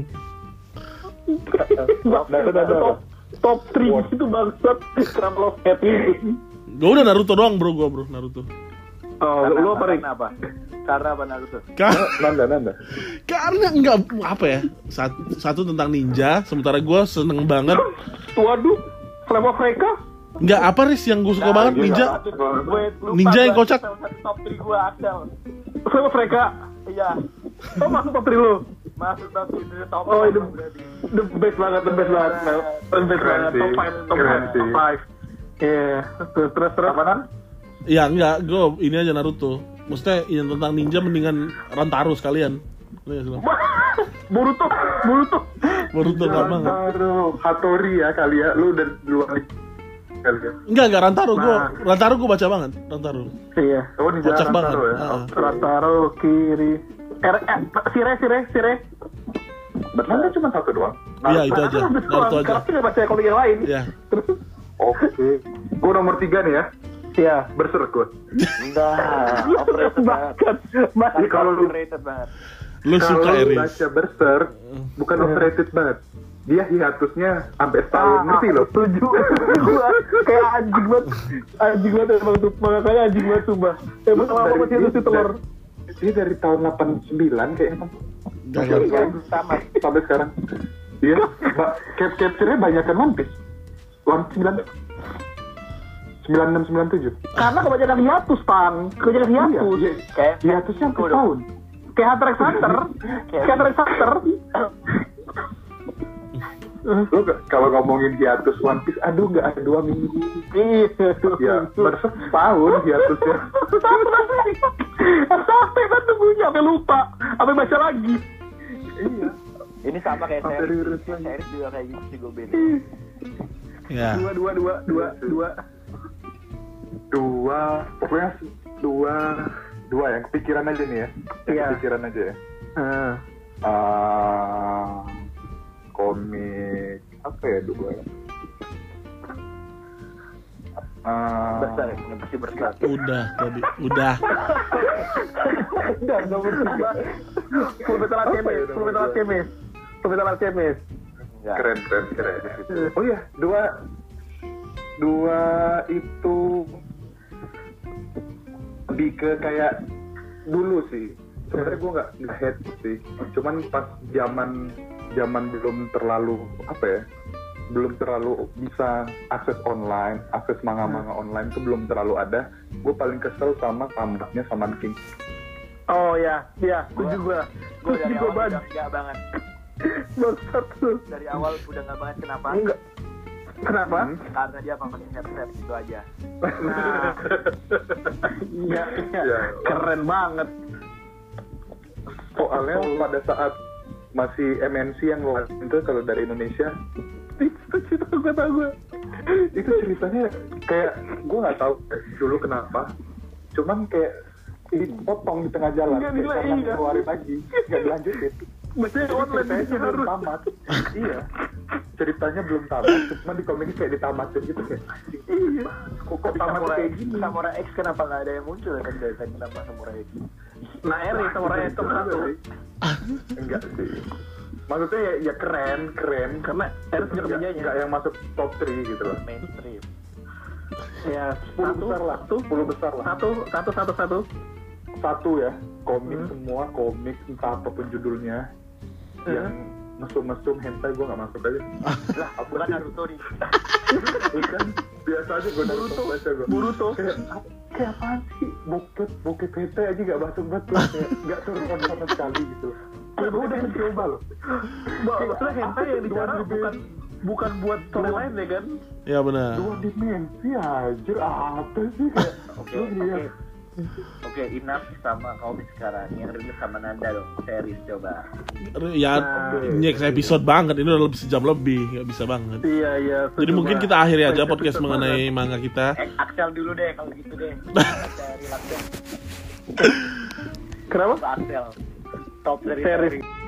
Top 3 itu bangsat. Kenapa lo happy? Gue udah Naruto doang bro, Naruto. Oh, lu apa Rik? Kenapa? Karena apa Naruto? Nanda. Karena enggak apa ya, satu tentang ninja, sementara gue seneng banget. Waduh, Flame of Reka? Enggak apa Riz yang gue suka banget ninja. Ninja yang kocak. Top 3 gue Axel. Flame of Reka? Iya. Oh, masuk top 3 lu? Masuk top 3 top. Oh, itu the best banget. The best banget. Top 5. Iya. Terus. Apaan? Ya enggak, gue ini aja Naruto. Maksudnya yang tentang ninja mendingan Rantaro sekalian. Boruto. Naruto enggak banget. Hattori ya kali ya. Lu udah duluan kali ya. Enggak Rantaro, Rantaro gue baca banget, Rantaro. Iya. Oh, Ninja Kocak banget. Rantaro ya. Rantaro kiri. Sire. Nanda cuma satu doang. Iya itu aja, Naruto aja. Karena nggak baca komik yang lain. Ya, Oke. Gue nomor 3 nih ya. Iya. Berserk gue. Enggak. Overrated banget. Masih Kalau lu Overrated banget. lu suka Kalau lu Eri. baca Berserk, bukan overrated banget. Dia hiatusnya sampai setahun, ngerti lo? Setuju. Gua kayak anjing banget emang tuh, makanya anjing banget sumpah. Emang lama masih ada si telur. Dia dari tahun 89 kayaknya. Sama. Sampai sekarang. Iya, capture-nya banyak kan One Piece. 9697. Karena kebanyakan hiatus, Pang. Kebanyakan hiatus. Iya, Kayak hiatusnya sampai tahun. Kayak Hunter x Hunter. Lo kalau ngomongin hiatus One Piece, aduh nggak ada 2 minggu. Iya. Ya, Berserk setahun hiatusnya. Sampai kan tunggunya, sampai lupa. Sampai baca lagi. Iya. ini sama kayak Sampai series. rilis lagi. Series juga kayak gitu sih gue beda. Ya. Pokoknya dua yang kepikiran aja nih ya. Iya. Kepikiran aja ya. Komik apa ya dua ya? Besar ya, pasti besar. Udah tadi, udah. Enggak berubah. Fullmetal Alchemist. Enggak. Keren. Oh iya, dua itu lebih ke kayak dulu sih. Sebenarnya gue nggak hate sih. Cuman pas zaman belum terlalu belum terlalu bisa akses online, akses manga-manga online itu belum terlalu ada. Gue paling kesel sama tamatnya Shaman King. Oh ya, setuju gue. Gue dari awal udah enggak banget. Bangsat lu. Dari awal udah enggak banget. Kenapa? Enggak. Kenapa? Karena dia pakai headset itu aja. Nah. Iya. Ya. Keren banget. Soalnya pada saat masih MNC yang lain itu kalau dari Indonesia itu cerita gue itu ceritanya kayak gue nggak tahu dulu kenapa, cuman kayak dipotong di tengah jalan, karena keluarin lagi nggak dilanjutin. Maksudnya Ceritanya belum tamat. Iya, ceritanya belum tamat, cuma di komiknya kayak ditamatin gitu kayak. Iya. Kok tamat kayak gini? Samurai X kenapa nggak ada yang muncul kan dari tadi nama Samurai X? Nah, Samurai X satu. Enggak sih. Maksudnya ya keren karena Harus punya kerjanya. enggak yang masuk top 3 gitu loh. Mainstream. Ya, 10 besar lah. 10 besar lah. Satu. satu ya, komik semua, komik entah apapun judulnya, yang mesum-mesum hentai gue nggak masuk aja. Lah, bukan Naruto nih. Bukan, biasa aja gue baca gue. Boruto. Kayak apaan sih? Bokep PT aja nggak masuk betul, nggak turun sama sekali gitu. Gue udah mencoba loh. Maksudnya hentai yang bicara bukan buat storyline ya kan? Ya benar. 2 dimensi anjir, apa sih kayak Oke, enough sama komik sekarang. Yang rilis sama Nanda dong, series coba. Ya next episode banget, ini udah lebih sejam lebih, nggak bisa banget. Iya. Jadi mungkin kita akhiri aja podcast mengenai manga kita. Axel dulu deh kalau gitu deh. Relax deh. Kenapa? Axel. Top Series. series.